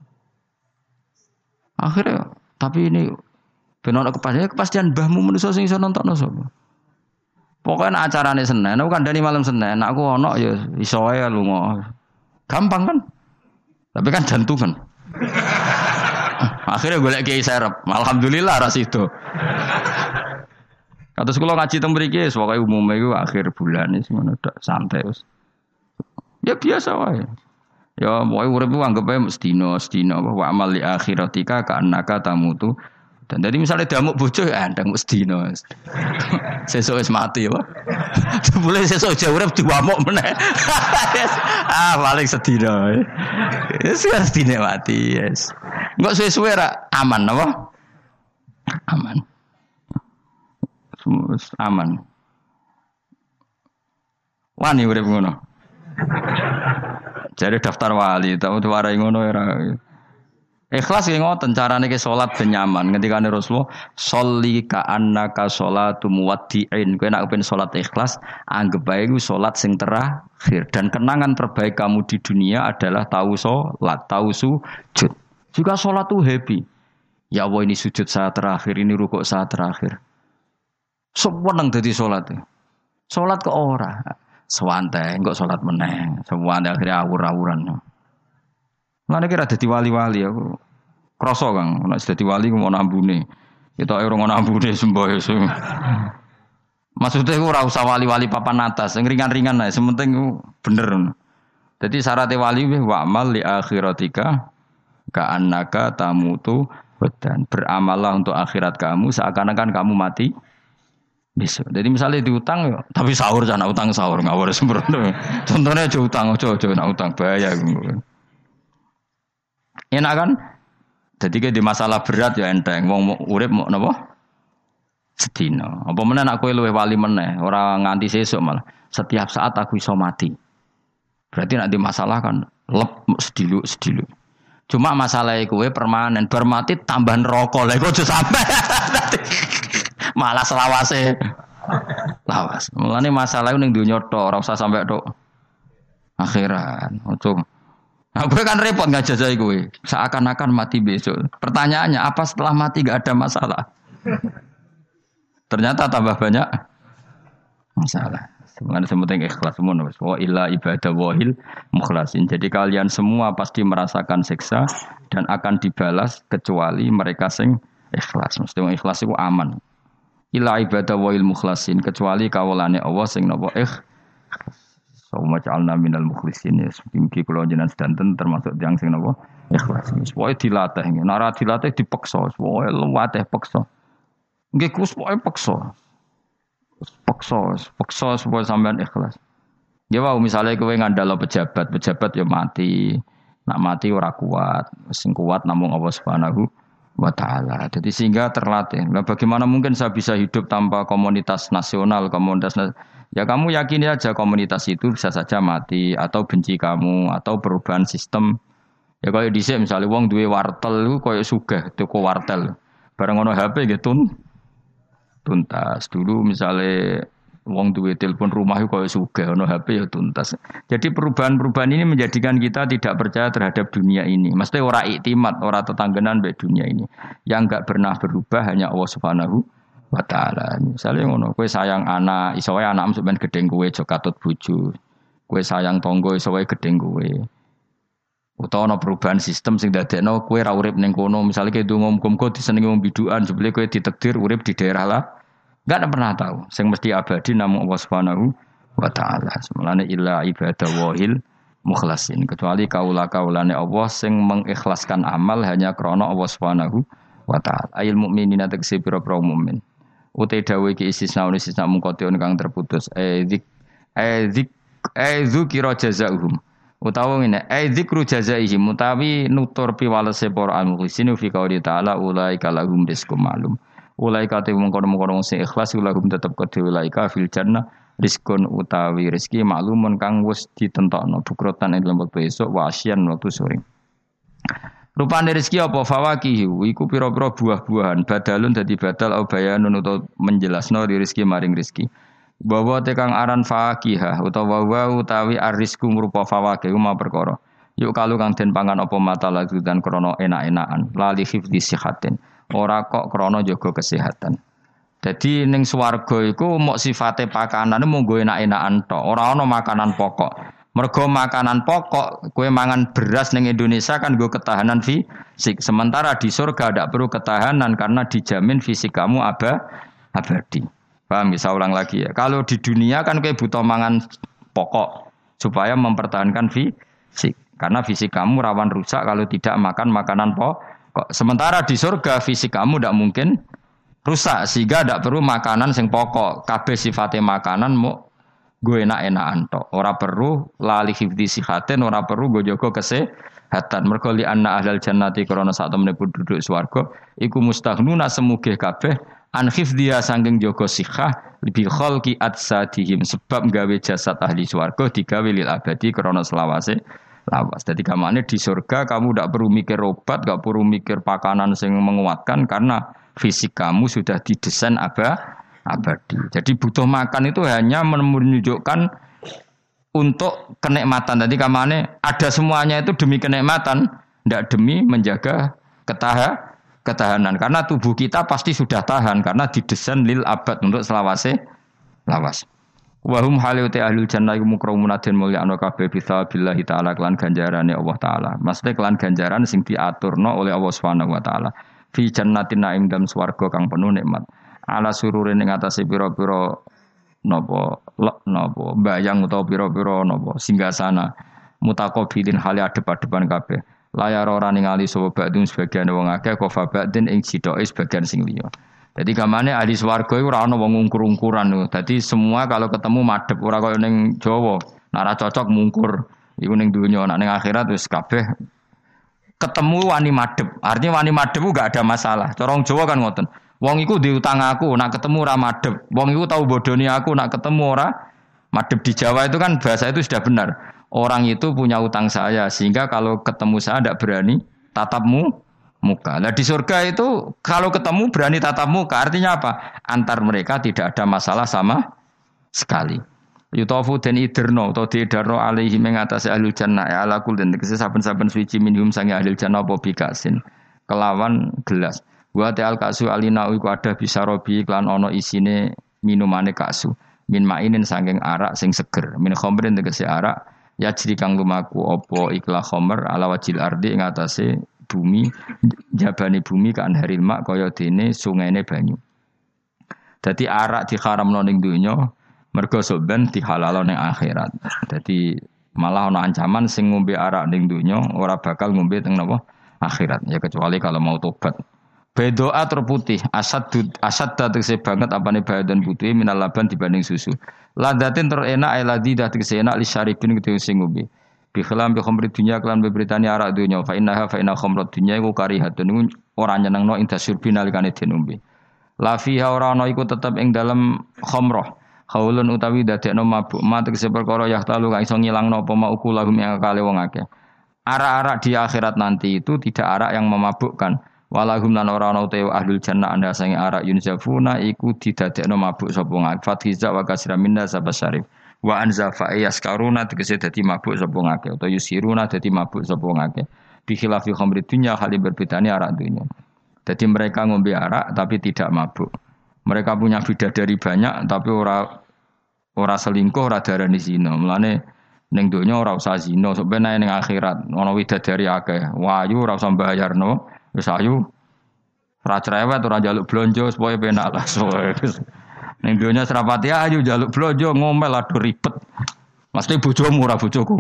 Akhirnya, tapi ini ben ana kepastian, kepastian mbahmu manusa sing iso nontonno sapa? Pokoke nek acarane Senin, aku kandhani malam Senin, nek aku ana ya iso wae lunga. Gampang kan? Tapi kan jantungan. Akhirnya golek kiai serep. Alhamdulillah ras itu. Kados kula ngaji teng mriki wis pokoke umume iku akhir bulan wis ngono tok santai wis. Ya biasa wae. Ya pokoke urip ku anggap ae sedina sedina wa amal li akhiratika ka annaka tamutu. Dan jadi misalnya damuk bojo ya ndang sedina. Sesuk wis mati ya. Boleh sesuk aja urip diwamuk meneh. Ah paling sedina. Wis sedina mati yes. Engko suwe-suwe ra aman apa? Aman. Aman. Wani urip ngono. Jare daftar wali, tau warai ngono ora. Ikhlas ki ngoten carane ki salat ben nyaman. Ngendikane Rasulullah, "Sholli ka annaka sholatu muwaddi'in." Kowe nek pengen salat ikhlas, anggap bae iku salat sing terakhir dan kenangan terbaik kamu di dunia adalah tahu salat, tahu sujud. Juga salat tuh happy. Ya Allah ini sujud saat terakhir, ini rukuk saat terakhir. Seneng dadi salat. Salat kok ora. Sewantai kok salat meneh. Sewantai akhirnya awur-awuran. Lan iki ra dadi wali-wali aku. Krasa Kang, nek dadi wali ku mau ambune. Kita ora ngono ambune semboyo. Maksudnya aku ora usah wali-wali papan atas, sing ringan-ringan ae, sementing bener. Jadi syarat wali wa amal li akhiratika ka annaka tamutu dan beramallah untuk akhirat kamu seakan-akan kamu mati. Bisa. Jadi misalnya diutang, tapi sahur jangan utang sahur ngawur sembrono. Contohnya aja utang, aja aja nak utang bahaya. Enak kan? Jadi kayak di masalah berat ya enteng. Wong urip mau napa? Sedina. Apa meneh nak kowe luwih wali meneh, ora nganti sesuk malah. Setiap saat aku iso mati. Berarti nak di masalah kan lep sedilu sedilu. Cuma masalah kowe permanen bar mati tambah neraka. Lah kok aja sampe. Malah selawase lawas. Mulane masalah ning donya tok, ora usah sampe tok akhirat. Ojo. Nah, gue kan repot ngajajai gue. Seakan-akan mati besok. Pertanyaannya apa setelah mati gak ada masalah? Ternyata tambah banyak masalah. Sebenarnya sementing ikhlas semua. Wa illa ibadah wahil mukhlasin. Jadi kalian semua pasti merasakan siksa dan akan dibalas kecuali mereka sing ikhlas. Mesti ikhlas itu aman. Illa ibadah wahil mukhlasin kecuali kawulane Allah sing napa ikhlas. Sawma ja'alna minal mukhlisin ya. Mugi kula jenengan sedanten termasuk tiyang sing napa ikhlas. Pokoke dilatih. Nek ora dilatih dipaksa, pokoke luwateh paksa. Nggih Gus pokoke paksa. Paksa, paksa supaya sampean ikhlas. Ya wae misale kowe ngandalo pejabat, pejabat ya mati. Nak mati ora kuat, sing kuat namung Allah Subhanahu wa taala. Jadi sehingga terlatih. Nah, bagaimana mungkin saya bisa hidup tanpa komunitas nasional, komunitas nas- ya kamu yakini aja komunitas itu bisa saja mati atau benci kamu atau perubahan sistem. Ya kalau dhisik misalnya wong duwe wartel iku koyo sugih toko wartel. Bareng ono H P gitu tuntas. Dulu misalnya wong duwe telepon rumah itu kaya sugih ono H P ya tuntas. Jadi perubahan-perubahan ini menjadikan kita tidak percaya terhadap dunia ini. Mesti ora iktimat, ora tetanggenan mbek dunia ini. Yang enggak pernah berubah hanya Allah Subhanahu wa taala. Misale ngono, kowe sayang anak, iso wae anakmu sampeyan gedeng kowe aja katut bojo. Kowe sayang tangga iso wae gedeng kowe. Utawa ana perubahan sistem sing dadekno kowe ra urip ning kono, misale kowe ndonga muga-muga disenengi wong bidukan, sebele kowe ditakdir urip di daerah lah. Enggak pernah tahu. Sing mesti abadi namung Allah Subhanahu wa taala. Semulane illa ibadah wahil mukhlasin. Kecuali kaula-kaulane Allah sing mengikhlaskan amal hanya krana Allah Subhanahu wa taala. Ail mukminina tegese pira-pira mukmin. Ute dawuh iki istisna istisna mungkotion kang terputus. Eh zik eh zik eh zukira jazaohum. Utawa ngene, eh zikru jazaihim utawi nutur piwalese para al-mukhlisin fi qouli ta'ala ulaika lahum rizqum ma'lum. Ulaika te mungkon-mungkon sing ikhlas ulahum tetep kedhe ulaika fil jannah rizqun utawi rezeki maklumun kang wis ditentokno bukrotan ing lembek besok wa asyan wektu sore. Rupane rezeki apa fawakihu iku pira-pira buah-buahan badalun dadi badal au bayanun utawa menjelasno rezeki maring rezeki. Bahwa tekang aran fakihah utawa wa utawi arrizku ngrupa fawakih ma perkara. Yuk kalu kang den pangan apa mata lagu dan krana enak-enakan lali hifdzi sihatin. Ora kok krana jaga kesehatan. Jadi ning swarga iku mok sifate pakanane mung go enak-enakan tok, ora ana makanan pokok. Mergo makanan pokok kowe mangan beras ning Indonesia kan go ketahanan fisik. Sementara di surga tidak perlu ketahanan karena dijamin fisik kamu aba abadi. Paham bisa ulang lagi ya. Kalau di dunia kan kowe butuh mangan pokok supaya mempertahankan fisik. Karena fisik kamu rawan rusak kalau tidak makan makanan pokok. Sementara di surga fisik kamu tidak mungkin rusak sehingga tidak perlu makanan sing pokok. Kabeh sifatnya makanan mau gue enak-enakan tok. Ora perlu lali hifdzi sihatin, ora perlu gue jaga kesehatan. Mergo li anna ahlal jannati krana sak temene penduduk swarga iku mustaghnuna semugih kabeh an hifdziha saking jaga sihah bil khalqi atsadihim sebab gawe jasad ahli swarga digawe lil abadi krana selawase lawas. Jadi kamane di surga kamu tidak perlu mikir obat, tidak perlu mikir pakanan yang menguatkan karena fisik kamu sudah didesain aba, abadi. Jadi butuh makan itu hanya menunjukkan untuk kenikmatan. Jadi kamane ada semuanya itu demi kenikmatan, tidak demi menjaga ketahanan. Ketahanan karena tubuh kita pasti sudah tahan karena didesain lil abad untuk selawase lawas. Wahum haliuti ahlul jannah iku mukramun den mulyakno kabeh bisa billahi taala kelan ganjarane Allah taala. Maksudnya kelan ganjaran sing diaturno oleh Allah Subhanahu wa taala. Fi jannatin naim dalam swarga kang penuh nikmat. Ala sururin ing atase pira-pira napa napa bayang utawa pira-pira napa singgasana mutaqabilin hale adep-adepan kabeh. Layar ora ningali sapa badung sebagian wong akeh kofa badin ing sidoke sebagian sing liya. Jadi gamane ahli swarga iku ora ana wong ungkur-ungkuran lho. Dadi semua kalau ketemu madhep ora kaya ning Jawa. Nek ora cocok mungkur. Iku ning donya, nek ning akhirat wis kabeh ketemu wani madhep. Artinya wani madhep ku gak ada masalah. Cara wong Jawa kan ngoten. Wong iku diutang aku, nek ketemu ora madhep. Wong iku tau bodoni aku, nek ketemu ora madhep. Di Jawa itu kan bahasa itu sudah benar. Orang itu punya utang saya sehingga kalau ketemu saya tidak berani tatapmu muka. Nah di surga itu kalau ketemu berani tatap muka artinya apa? Antar mereka tidak ada masalah sama sekali. Yutafu dan iderno atau diidarno alaihi mengatasi ahlul jannah ya ala kul dan saben-saben suci minhum sangi ahlul jannah apa bikasin kelawan gelas. Wa ta'al kasu alina iku ada bisa robi klan ono isine minumane kasu. Min mainin saking arak sing seger. Min khamrin tegese arak ya jadi kang lumaku opo ikhla khomer ala wajil ardi ing atase bumi jabane bumi kan haril mak kaya dene sungaine banyu. Dadi arak diharamno ning donya Mergo soben dihalal ning akhirat. Dadi malah ana ancaman sing ngombe arak ning donya ora bakal ngombe teng napa akhirat. Ya kecuali kalau mau tobat. Bedoa terputih, asad asad tegese banget apane badan putih minal laban dibanding susu. Ladatin terenak ay ladidah tegese enak li syaribin kedhe sing ngombe. Bi khilam bi khamri dunya kelan beberitani arak dunya fa innaha fa inna khamrat dunya iku karihatun ora nyenengno ing dasurbi nalikane dinombe. La fiha ora ana iku tetep ing dalem khamrah. Haulun utawi dadekno mabuk, mat tegese perkara yahtalu kang iso ngilangno apa mau kulahum ing akale wong akeh. Arak-arak di akhirat nanti itu tidak arak yang memabukkan. Walahum lan ora ana utawa ahlul jannah anda sange arak yunzafuna iku didadekno mabuk sapa ngake fathiza wa kasra minna sabasyarif wa anzafa yaskaruna tegese dadi mabuk sapa ngake utawa yusiruna dadi mabuk sapa ngake bi khilafi khamri dunya hal berbedane arak dunya. Jadi mereka ngombe arak tapi tidak mabuk. Mereka punya bidadari banyak tapi ora ora selingkuh ora darani zina. Mulane ning donya ora usah zina sok ben ning akhirat ana widadari akeh. Wayu ora usah mbayarno. Wis ayu ora cerewet ora njaluk blonjo supaya penak lah. Ning donya serapati ayu njaluk blonjo ngomel aduh ribet. Mesti bojomu ora bojoku.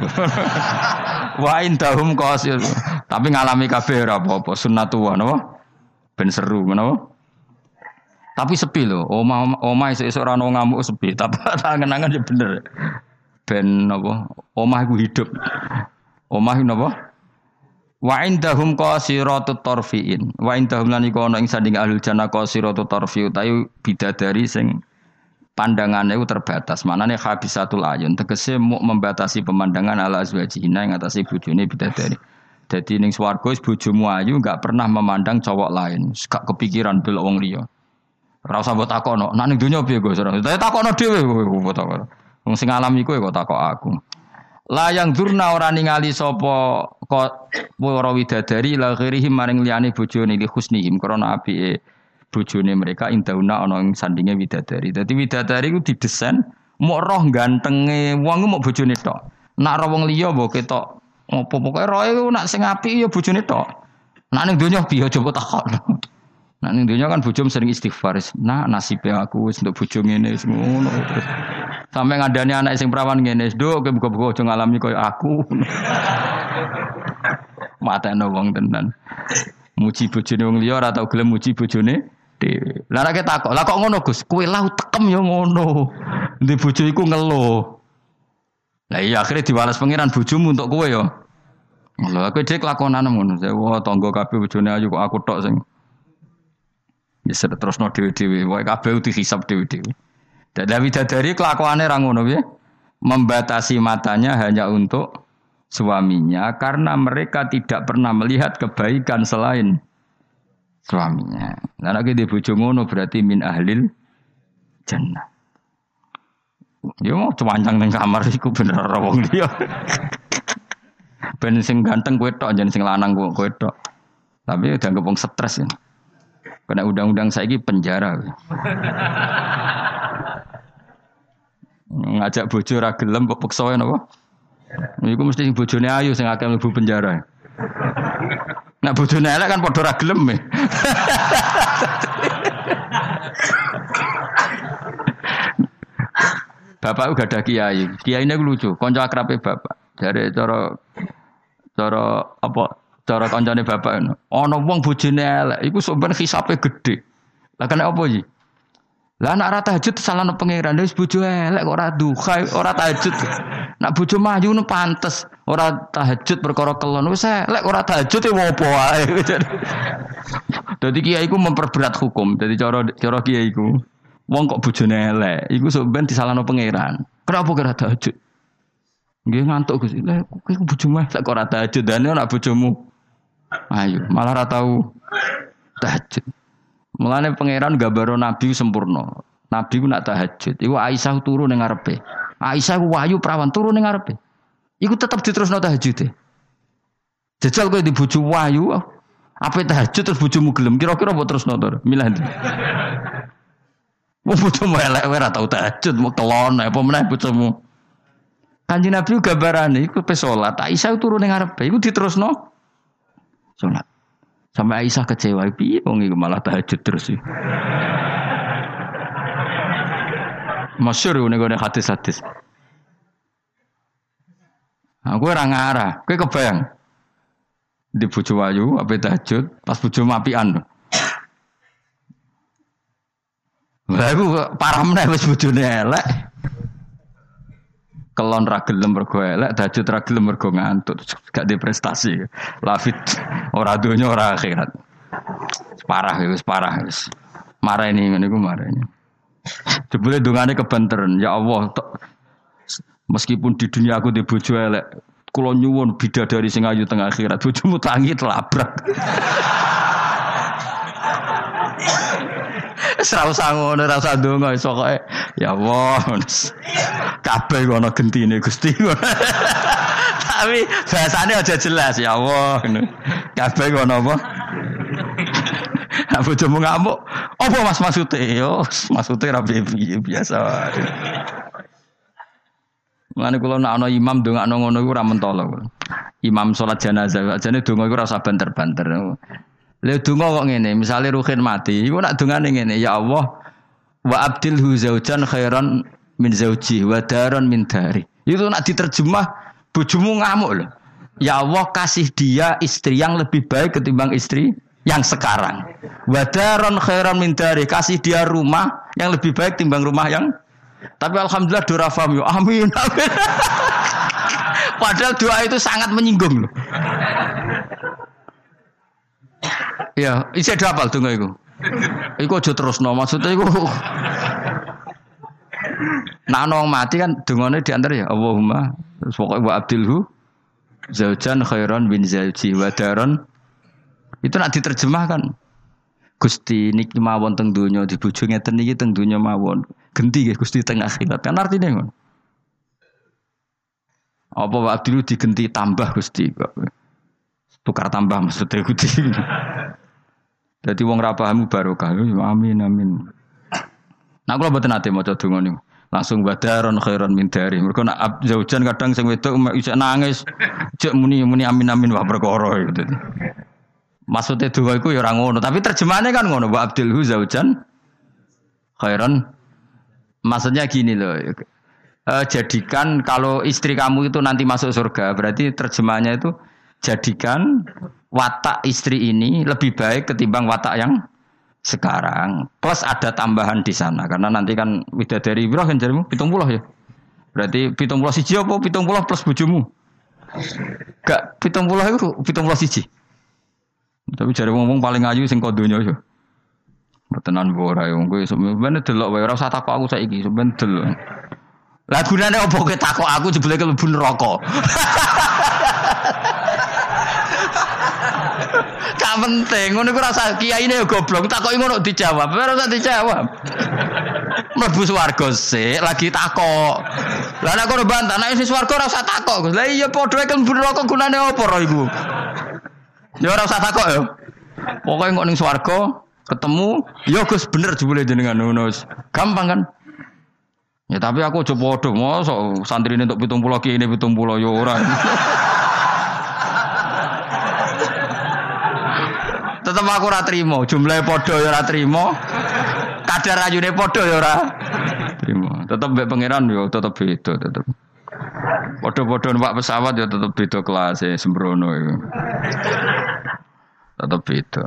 Wa indahum qasil. Tapi ngalami kabeh ora apa-apa sunnatullah napa? Ben seru menapa? Tapi sepi lho. Omah omah esuk ora ono ngamuk sepi, tapi angen-angen ya bener. Ben napa? Omah iku hidup. Omah napa? Wa indahum qasiratut tarfiin. Wa indahum lan iku ana ing sanding ahlul jannah qasiratut tarfi utawi bidadari sing pandangane iku terbatas. Manane habisatul ayun tegese muk membatasi pemandangan ala azwajina ing atase bojone bidadari. Dadi ning swarga wis bojomu ayu enggak pernah memandang cowok lain. Gak kepikiran delok wong liya. Ora usah mbok takono. Nek ning donya piye Gus? Saya takono dhewe kowe takono. Wong sing alami kowe kok takok aku. Layang durna ora ningali sapa kok para widadari la ghirihim maring liyane bojone li husnihim krana apike bojone mereka indauna ana ing sandinge widadari. Dadi widadari ku didesain mok roh gantenge wong ku mok bojone tok. Nak roh wong liya mbok ketok apa pokoke roe ku nak sing apik ya bojone tok. Nak ning donya piye coba takon. Nak ning donya kan bojom sering istighfar. Nah nasibe aku wis untuk bojo ngene wis ngono terus. Sampai ngandani anak sing perawan ngene, "Nduk, kowe buka-buka aja ngalami koyo aku." Matane wong tenan. Muji bojone wong liya ora tau gelem muji bojone dhewe. Lah nek takok, "Lah kok ngono, Gus? Kowe lah tekem ya ngono." Ndi bojo iku ngeluh. Lah iya akhire diwales pangeran bojomu untuk kowe ya. Lho aku dhek lakonan ngono. Wah, tangga kabeh bojone ayu kok aku tok sing wis terusno dhewe-dhewe. Wae kabeh dihisab dhewe-dhewe. Dan widadari kelakuannya orang ngono ya, membatasi matanya hanya untuk suaminya karena mereka tidak pernah melihat kebaikan selain suaminya. Nah lagi di bojo ngono berarti min ahlil jannah. Ya mau cuancang nang kamar iku bener ora wong liya. Ben sing ganteng kowe tok jan sing lanang kowe tok. Tapi udah ngepung stres ya. Kena undang-undang saiki penjara. Ngajak bojo ra gelem kok peksa wae napa? Iku mesti bojone ayu sing akeh mlebu penjara. Nek bojone elek kan padha ra gelem. Bapak uga ada kiai. Kiai ini lucu, kanca akrabe bapak. Jare cara cara apa? Cara kancane bapak ngono. Ana wong bojone elek iku sok ben hisabe gedhe. Lah kena apa iki? Lah anak ora tahajud salahno pangeran wis bojo elek kok ora duha ora tahajud. Nak bojo maju nu pantes ora tahajud perkara kelon wis elek ora tahajud e opo wae. Dadi kiai iku memperberat hukum. Dadi cara cara kiai iku wong kok bojone elek iku sok ben disalahno pangeran. Kenapa ora tahajud? Nggih ngantuk Gus. Lah kowe bojomu elek kok ora tahajud dane nak bojomu. Ayo malah ora tau tahajud. Mulane pangeran gambaro nabi sempurna. Nabi ku nak tahajud. Iku Aisyah turu ning ngarepe. Aisyah ku wahyu prawan turu ning ngarepe. Iku tetep diterusno tahajude. Jajal kowe di bojo wahyu, ape tahajud terus bojomu gelem kira-kira mbok terusno to? Milih ndi? Wong bojomu elek ora tau tahajud, mau kelon apa meneh bojomu. Kanjeng Nabi gambarane iku pe salat. Aisyah turu ning ngarepe. Iku diterusno salat. Sampai Aisyah kecewa, piye wong iku malah tahajud terus iki. Masyhur ngene hadis-hadis. Aku ora ngarah, kowe kebayang. Di bojo ayu ape tahajud, pas bojo mapian. Lah iku parah meneh wis bojone elek. Kelon ra gelem mergo elek, tahajud ra gelem mergo ngantuk, gak di prestasi. Lafit ora donya ora akhirat. Parah wis parah wis. Marani ngene iku marani. Jebule dongane kebanteren, ya Allah, meskipun di dunia aku di bojo elek, kula nyuwun bidadari sing ayu teng akhirat, bojomu tangi telabrak. Ora usah ngono, ora usah ndonga iso kok. Ya Allah. Kabeh ana gentine Gusti. Tapi bahasane aja jelas, ya Allah ngono. Kabeh ana apa? Aku bojomu ngamuk. Apa Mas maksude? Yo, maksude ra piye biasa wae. Mulane kula nek ana imam ndongakno ngono iku ora mentolo. Imam salat jenazah, ajane donga iku ora usah banter-banter. Lha donga kok ngene, misale Ruhin mati, iku nak dongane ngene, ya Allah, wa abdilhu zaujan khairan min zauji wa daran min dari. Itu nak diterjemah bojomu ngamuk lho. Ya Allah, kasih dia istri yang lebih baik ketimbang istri yang sekarang. Wa daran khairan min dari, kasih dia rumah yang lebih baik timbang rumah yang. Tapi alhamdulillah doa faham yo. Amin. Amin. Padahal doa itu sangat menyinggung loh. Ya, isi ada apal donga iku. Iku aja terusno, maksudnya iku. Nah, nong mati kan dongane di antara ya Allahumma pokoke wa abdilhu zaujan khairan bin zauji wa daron. Itu nak diterjemahkan. Gusti niki mawon teng donya di bojo ngeten niki teng donya mawon. Genti nggih Gusti teng akhirat. Kan artine ngono. Apa wa abdilhu digenti tambah Gusti kok. Tukar tambah maksudnya Gusti. Jadi wong ra paham barokah. Amin amin. Nah kula mboten ate maca donga niku. Langsung badaron khairon min dari. Mergo nak zaujan kadang sing wedok isih nangis. Jek muni-muni amin amin wah perkara gitu. Maksudnya donga iku ya ora ngono, tapi terjemahane kan ngono, wa abdilhu zaujan khairon. Maksudnya gini loh. E, jadikan kalau istri kamu itu nanti masuk surga, berarti terjemahnya itu jadikan watak istri ini lebih baik ketimbang watak yang sekarang. Plus ada tambahan di sana karena nanti kan widadari piro kan jarimu pitung puluh ya. Berarti pitung puluh siji apa pitung puluh plus bojomu? Gak pitung puluh itu pitung puluh siji. Tapi jare wong-wong paling ayu sing kodonya ya. Tenan ora yo kowe sampeyan delok wae ora usah takok aku saiki sampeyan delok. Lah gunane opo kowe takok aku jebule mlebu neraka. Gak penting, ngono iku rasa kiyaine yo goblok, takoki ngono dijawab, ora usah dijawab. Mlebu swarga sik, lagi takok. Lah nek kono bantah, nek wis swarga ora usah takok, Gus. Lah iya padha ae mlebu neraka gunane opo ro iku? Ya ora usah takok yo. Pokoke kok ning swarga ketemu, ya Gus bener jebule jenengan ngono. Gampang kan? Ya tapi aku aja padha, mosok santrine entuk pitung puluh ki ini pitung puluh ya ora. Tetep aku ora trimo, jumlahe padha ya ora trimo. Kadar ayune padha ya ora trimo. Tetep mbek pangeran ya tetep beda tetep. Padha-padha numpak pesawat ya tetep beda kelas e sembrono iku. Tetep beda.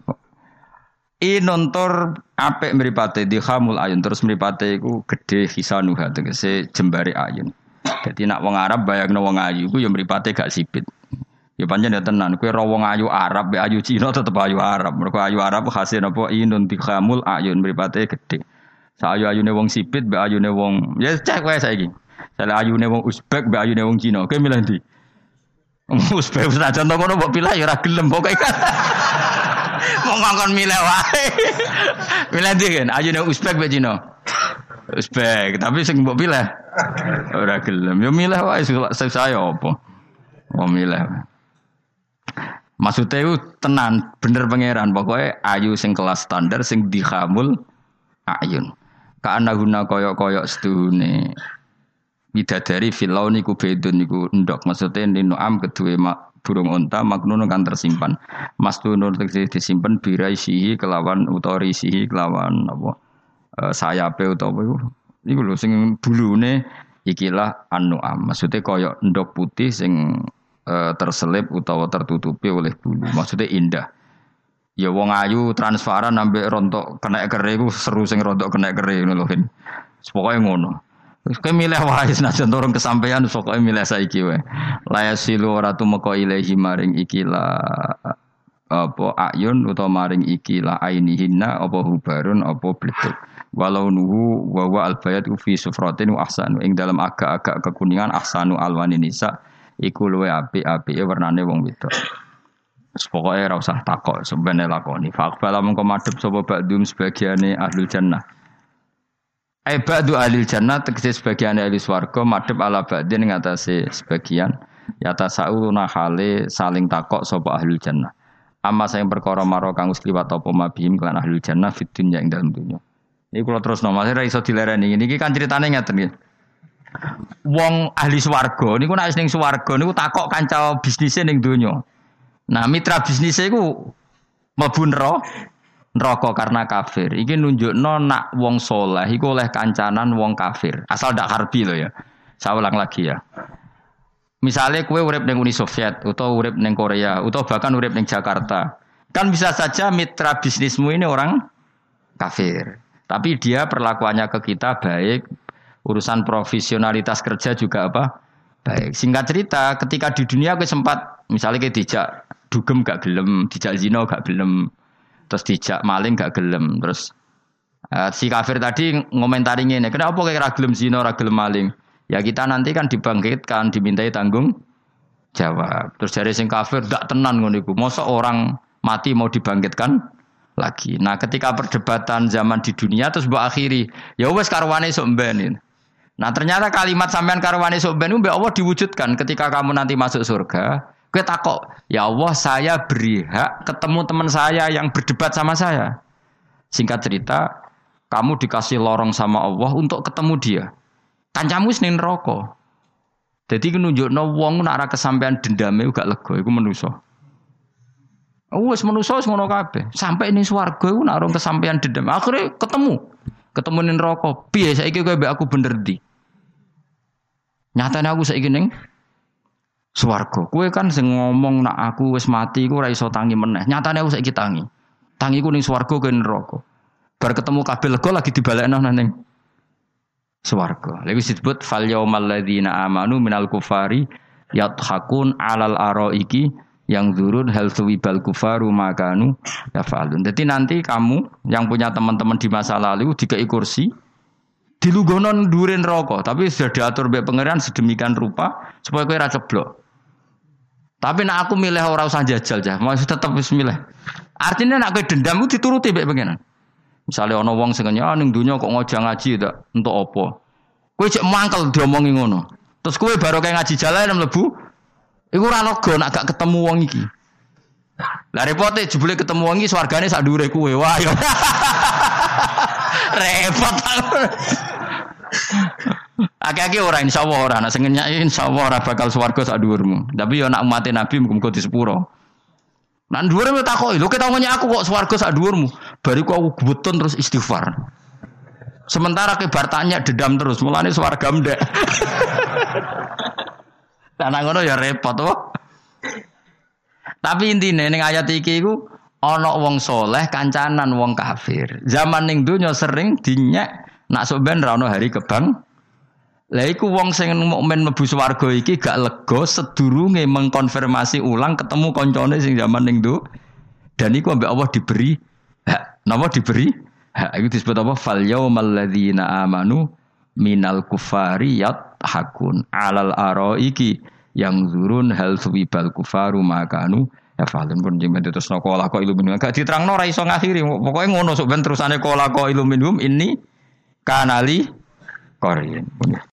Inontor apik mripate dihamul ayun terus mripate iku gedhe hisanuha tegese jembare ayun. Dadi nak wong Arab bayangno wong ayu iku ya mripate gak sipit. Ya pancen ya tenan, kowe ra wong ayu Arab, be ayu Cina tetep ayu Arab. Mergo ayu Arab khase napa inun dihamul ayun mripate gedhe. Sa ayu-ayune wong sipit, be ayune wong ya cek wae saiki. Sale ayune wong Uzbek, be ayune wong Cina. Kowe milih ndi? Uzbek senajan to ngono mbok pilih ya ora gelem pokoke. Wong ngongkon milih wae. Milih ndi kan? Ayune Uzbek be Cina. Uzbek, tapi sing mbok pilih ora gelem. Ya milih wae saya apa? Wong milih. Maksudnya itu tenan, bener pangeran. Pokoknya ayu sing kelas standar, sing dihamul ayun. Karena guna koyok-koyok sedune. Bidadari filau niku bedun niku endok. Maksudnya ninu'am kedua burung unta maknun kan tersimpan. Mas tunur disimpan birai sihi kelawan utori sihi kelawan apa e, sayape utawa itu Iku lho sing bulune ikilah an-nu'am. Maksudnya kaya endok putih sing e, terselip utawa tertutupi oleh bulu. Maksudnya indah. Ya wong ayu transparan ambek rontok kena kere iku seru sing rontok kena kere ngono lho. Pokoke ngono. Wis kowe milih wae senajan turun kesampaian pokoke milih saiki wae. La yasilu ora tumeka ilahi maring ikilah apa ayun utawa maring ikilah ainihinna apa hubarun apa bletuk. Walau nuhu wa wa albayat fi sufratin wa ahsanu ing dalam agak-agak kekuningan ahsanu alwani nisa iku luwe apik-apike warnane wong wedok. Wis pokoke ora usah takok sebene lakoni. Faqbala mengko madhep sapa ba'dum sebagiane ahlul jannah. Ai ba'du ahlil jannah tegese sebagiane ahli swarga madhep ala ba'din ing atase sebagian yata sauna hale saling takok sapa ahlul jannah. Amma sayang perkara maro kang wis liwat apa mabihim kelan ahlul jannah fid dunya ing dalem dunya. Iki kula terusno Mas ora iso dilereni. Niki kan critane ngeten nggih. Wong ahli swarga niku nek ning swarga niku takok kanca bisnise ning donya. Nah, mitra bisnise iku mlebu neraka karena kafir. Iki nunjukno nak wong saleh iku oleh kancanan wong kafir. Asal ndak harbi lho ya. Saya ulang lagi ya. Misalnya kue urip ning Uni Soviet atau urip ning Korea atau bahkan urip ning Jakarta. Kan bisa saja mitra bisnismu ini orang kafir. Tapi dia perlakuannya ke kita baik, urusan profesionalitas kerja juga apa? Baik. Singkat cerita, ketika di dunia aku sempat, misalnya kayak dijak dugem gak gelem, dijak zina gak gelem, terus dijak maling gak gelem, terus uh, si kafir tadi ngomentari ngene, kenapa kayak ra gelem zina, ra gelem maling? Ya kita nanti kan dibangkitkan, dimintai tanggung jawab. Terus dari sing kafir gak tenan ngono iku. Mosok orang mati mau dibangkitkan lagi. Nah, ketika perdebatan zaman di dunia terus mbok akhiri, ya wis karwane sok mben. Nah, ternyata kalimat sampean karwane sok mben mbek Allah diwujudkan ketika kamu nanti masuk surga. Kowe takok, "Ya Allah, saya beri hak ketemu teman saya yang berdebat sama saya." Singkat cerita, kamu dikasih lorong sama Allah untuk ketemu dia. Kancamu wis ning neraka. Dadi nunjukno wong nek ora kesampean dendame gak lega iku manusa. Wes manusa wis ngono kabeh. Sampai ning swarga iku nek ora kesampean dendam, akhire ketemu. Ketemu ning neraka. Piye saiki kowe mbek aku bener ndi? Nyatane aku saiki ning swarga. Kowe kan sing ngomong nek aku wis mati iku ora iso tangi meneh. Nyatane aku saiki tangi. Tangiku ning swarga kowe neraka. Bar ketemu kabeh lega lagi dibalekno nang ning swarga. Lha wis disebut fal yaumal ladzina amanu minal kufari yadhakun alal araiki yang zurun hal suwibal kufaru makanu yafalun. Jadi nanti kamu yang punya teman-teman di masa lalu dikei kursi dilungguhno dhuwure neraka, tapi sudah diatur mbek pangeran sedemikian rupa supaya kowe ora ceblok. Tapi nek aku milih ora usah jajal jah, masih tetep wis milih. Artinya nek kowe dendam ku dituruti mbek pangeran. Misale ana wong sing nyah ning donya kok ngojang ngaji tak entuk apa. Kowe cek mangkel diomongi ngono. Terus kowe baru kayak ngaji jalan mlebu iku ora lega nek gak ketemu wong iki. Lah repote jebule ketemu wong iki swargane sak dhuwure kowe. Wah ya. Repot. Akeh-akeh ora insyaallah ora nek sing nyai insyaallah ora bakal swarga sak dhuwurmu. Tapi ya nek umat Nabi muga-muga di sepuro. Nang dhuwure tak takoki, lho ketok nanya aku kok swarga sak dhuwurmu. Bariku aku gebutun terus istighfar. Sementara ke bar tanya dedam terus, mulane swarga ndek. Lah ngono ya repot to. Tapi intine ning ayat iki iku ana wong saleh kancanan wong kafir. Zaman ning donya sering dinyek nak sok ben ra ono hari kebang. Lah iku wong sing mukmin mlebu swarga iki gak lega sedurunge mengkonfirmasi ulang ketemu koncone sing zaman ning do. Dan iku ambek Allah diberi hak. Napa diberi? Hak iku disebut apa? Fal yaumal ladzina amanu minal kufari yathakun alal araiki yang zurun hal suwibal kufaru makanu ya falun pun jeng terus nokola ko iluminum gak diterangno ora iso ngakhiri pokoke ngono sok ben terusane kola ko iluminum ini kanali korin.